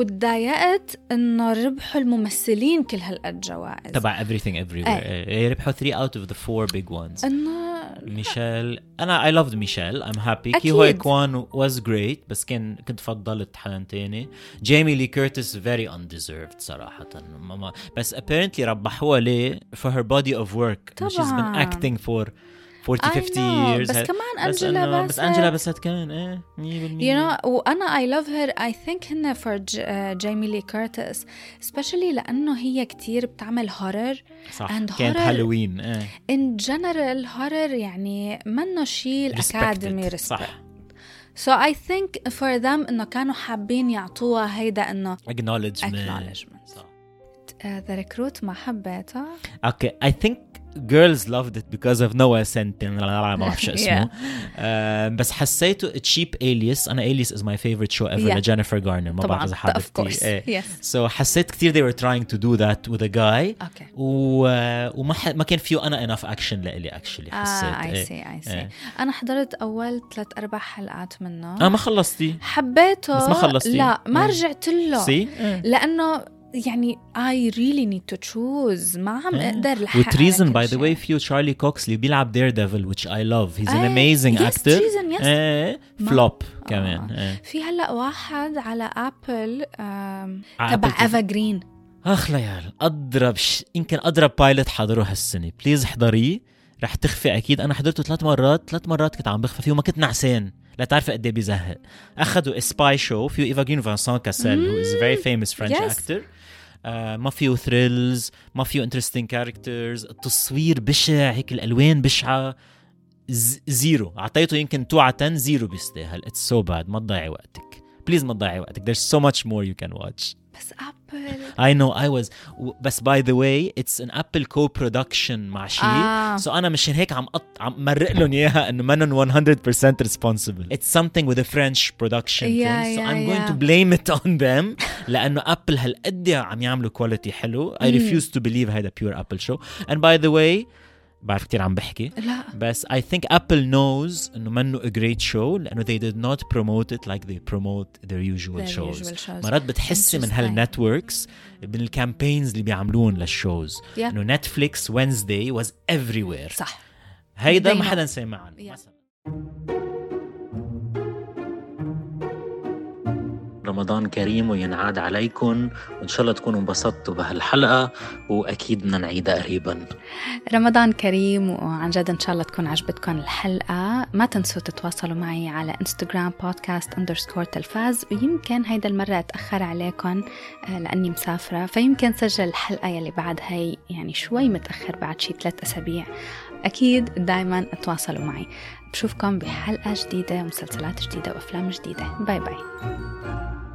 وتضايقت انه ربحوا الممثلين كل هالقد جوائز
تبع everything everywhere ايه. ربحوا three out of the four big ones
انه
ميشيل انا I loved ميشيل I'm happy كي هوي كوان was great بس كان كنت فضلت حدا تاني جيمي لي كيرتس very undeserved صراحة ماما بس apparently ربحوها ليه for her body of work
طبعا.
she's been acting for forty
I
fifty
know.
years.
بس
هاد-
كمان
بس
أنجيلا
إنه-
بس
بس أنجيلا باسيت كمان إيه مية بالمية.
you know وأنا I love her I think هنا for جايمي لي كيرتس especially لأنه هي كتير بتعمل horror
صح
and
كانت
horror
هالوين إيه
in general horror يعني منه شيء الأكاديمي
Respected.
respect.
صح
So I think for them إنه كانوا حابين يعطوها هيدا إنه
acknowledgement.
acknowledgement.
صح.
uh, the recruit ما حبيتها.
Okay, I think girls loved it because of Noah Centin. ما بعرف شو اسمه.
Yeah.
uh, بس حسيته cheap Alias. أنا Alias is my favorite show ever.
Yeah.
لجينيفر غارنر. ما بعرف إذا
طبعاً of
حضرتي.
course
إيه.
yes.
So حسيت كتير they were trying to do that with a guy.
Okay.
و وما ح... ما كان فيه أنا enough action لإلي actually حسيت.
ah, I
إيه.
see I see
إيه.
أنا حضرت أول ثلاث أربع حلقات منه.
آه ما خلصتي.
حبيته
بس ما خلصتي.
لا ما
إيه.
رجعت له.
See. إيه.
لأنه يعني I really need to choose ما عم أقدر لحق
وتريزن by the way فيه تشارلي كوكس اللي بيلعب Daredevil which I love. He's an amazing
yes,
actor.
Treason, yes.
إيه. فلوب كمان.
آه.
إيه.
في هلأ واحد على أبل
على
تبع
Apple
إيفا جرين.
اخ ليال اضرب ش... يمكن اضرب بايلوت حضره هالسنه بليز احضريه رح تخفي اكيد. انا حضرته ثلاث مرات ثلاث مرات كنت عم بخفى فيه وما كنت نعسان لا تعرف قد ايه بيزهق. اخذوا سباي شو فيه ايفا جرين وفانسون كاسيل who is a very famous French
Yes.
actor. آه ما فيه ثريلز ما فيه interesting characters. التصوير بشع هيك الالوان بشعه. ز... زيرو اعطيته يمكن two على ten زيرو بيستاهل. it's so bad ما تضيعي وقتك بليز ما تضيعي وقتك. there's so much more you can watch.
بس أبل
I know I was بس by the way it's an Apple co-production مع شيء
آه.
so أنا مشان هيك عم قط عم مرق لهم إياها إنه منن one hundred percent responsible. It's something with a French production
Yeah,
thing so
yeah,
I'm going
yeah.
to blame it on them لأنه Apple هالقد عم يعملوا quality حلو. I refuse to believe هيدا pure Apple show. And by the way بعرف كتير عم بحكي
لا
بس I think Apple knows إنه منه a great show لأنه they did not promote it like they promote their usual
Their
shows.
usual shows.
مرات بتحسي من
Interesting.
هالنتوركس من الكامبينز اللي بيعملون للشوز
Yeah.
إنه نتفليكس Wednesday was everywhere.
صح
هيدا
They
ما
know.
حدا سمع عنه
Yeah.
مثلا. رمضان كريم وينعاد عليكم وإن شاء الله تكونوا انبسطتوا بهالحلقة وأكيد بدنا نعيدها قريبا.
رمضان كريم وعن جد إن شاء الله تكون عجبتكم الحلقة. ما تنسوا تتواصلوا معي على انستغرام بودكاست اندرسكور تلفاز ويمكن هيدا المرة أتأخر عليكم لأني مسافرة فيمكن سجل الحلقة يلي بعد هاي يعني شوي متأخر بعد شي ثلاث أسابيع. أكيد دايما تواصلوا معي. بشوفكم بحلقة جديدة ومسلسلات جديدة وأفلام جديدة. باي باي.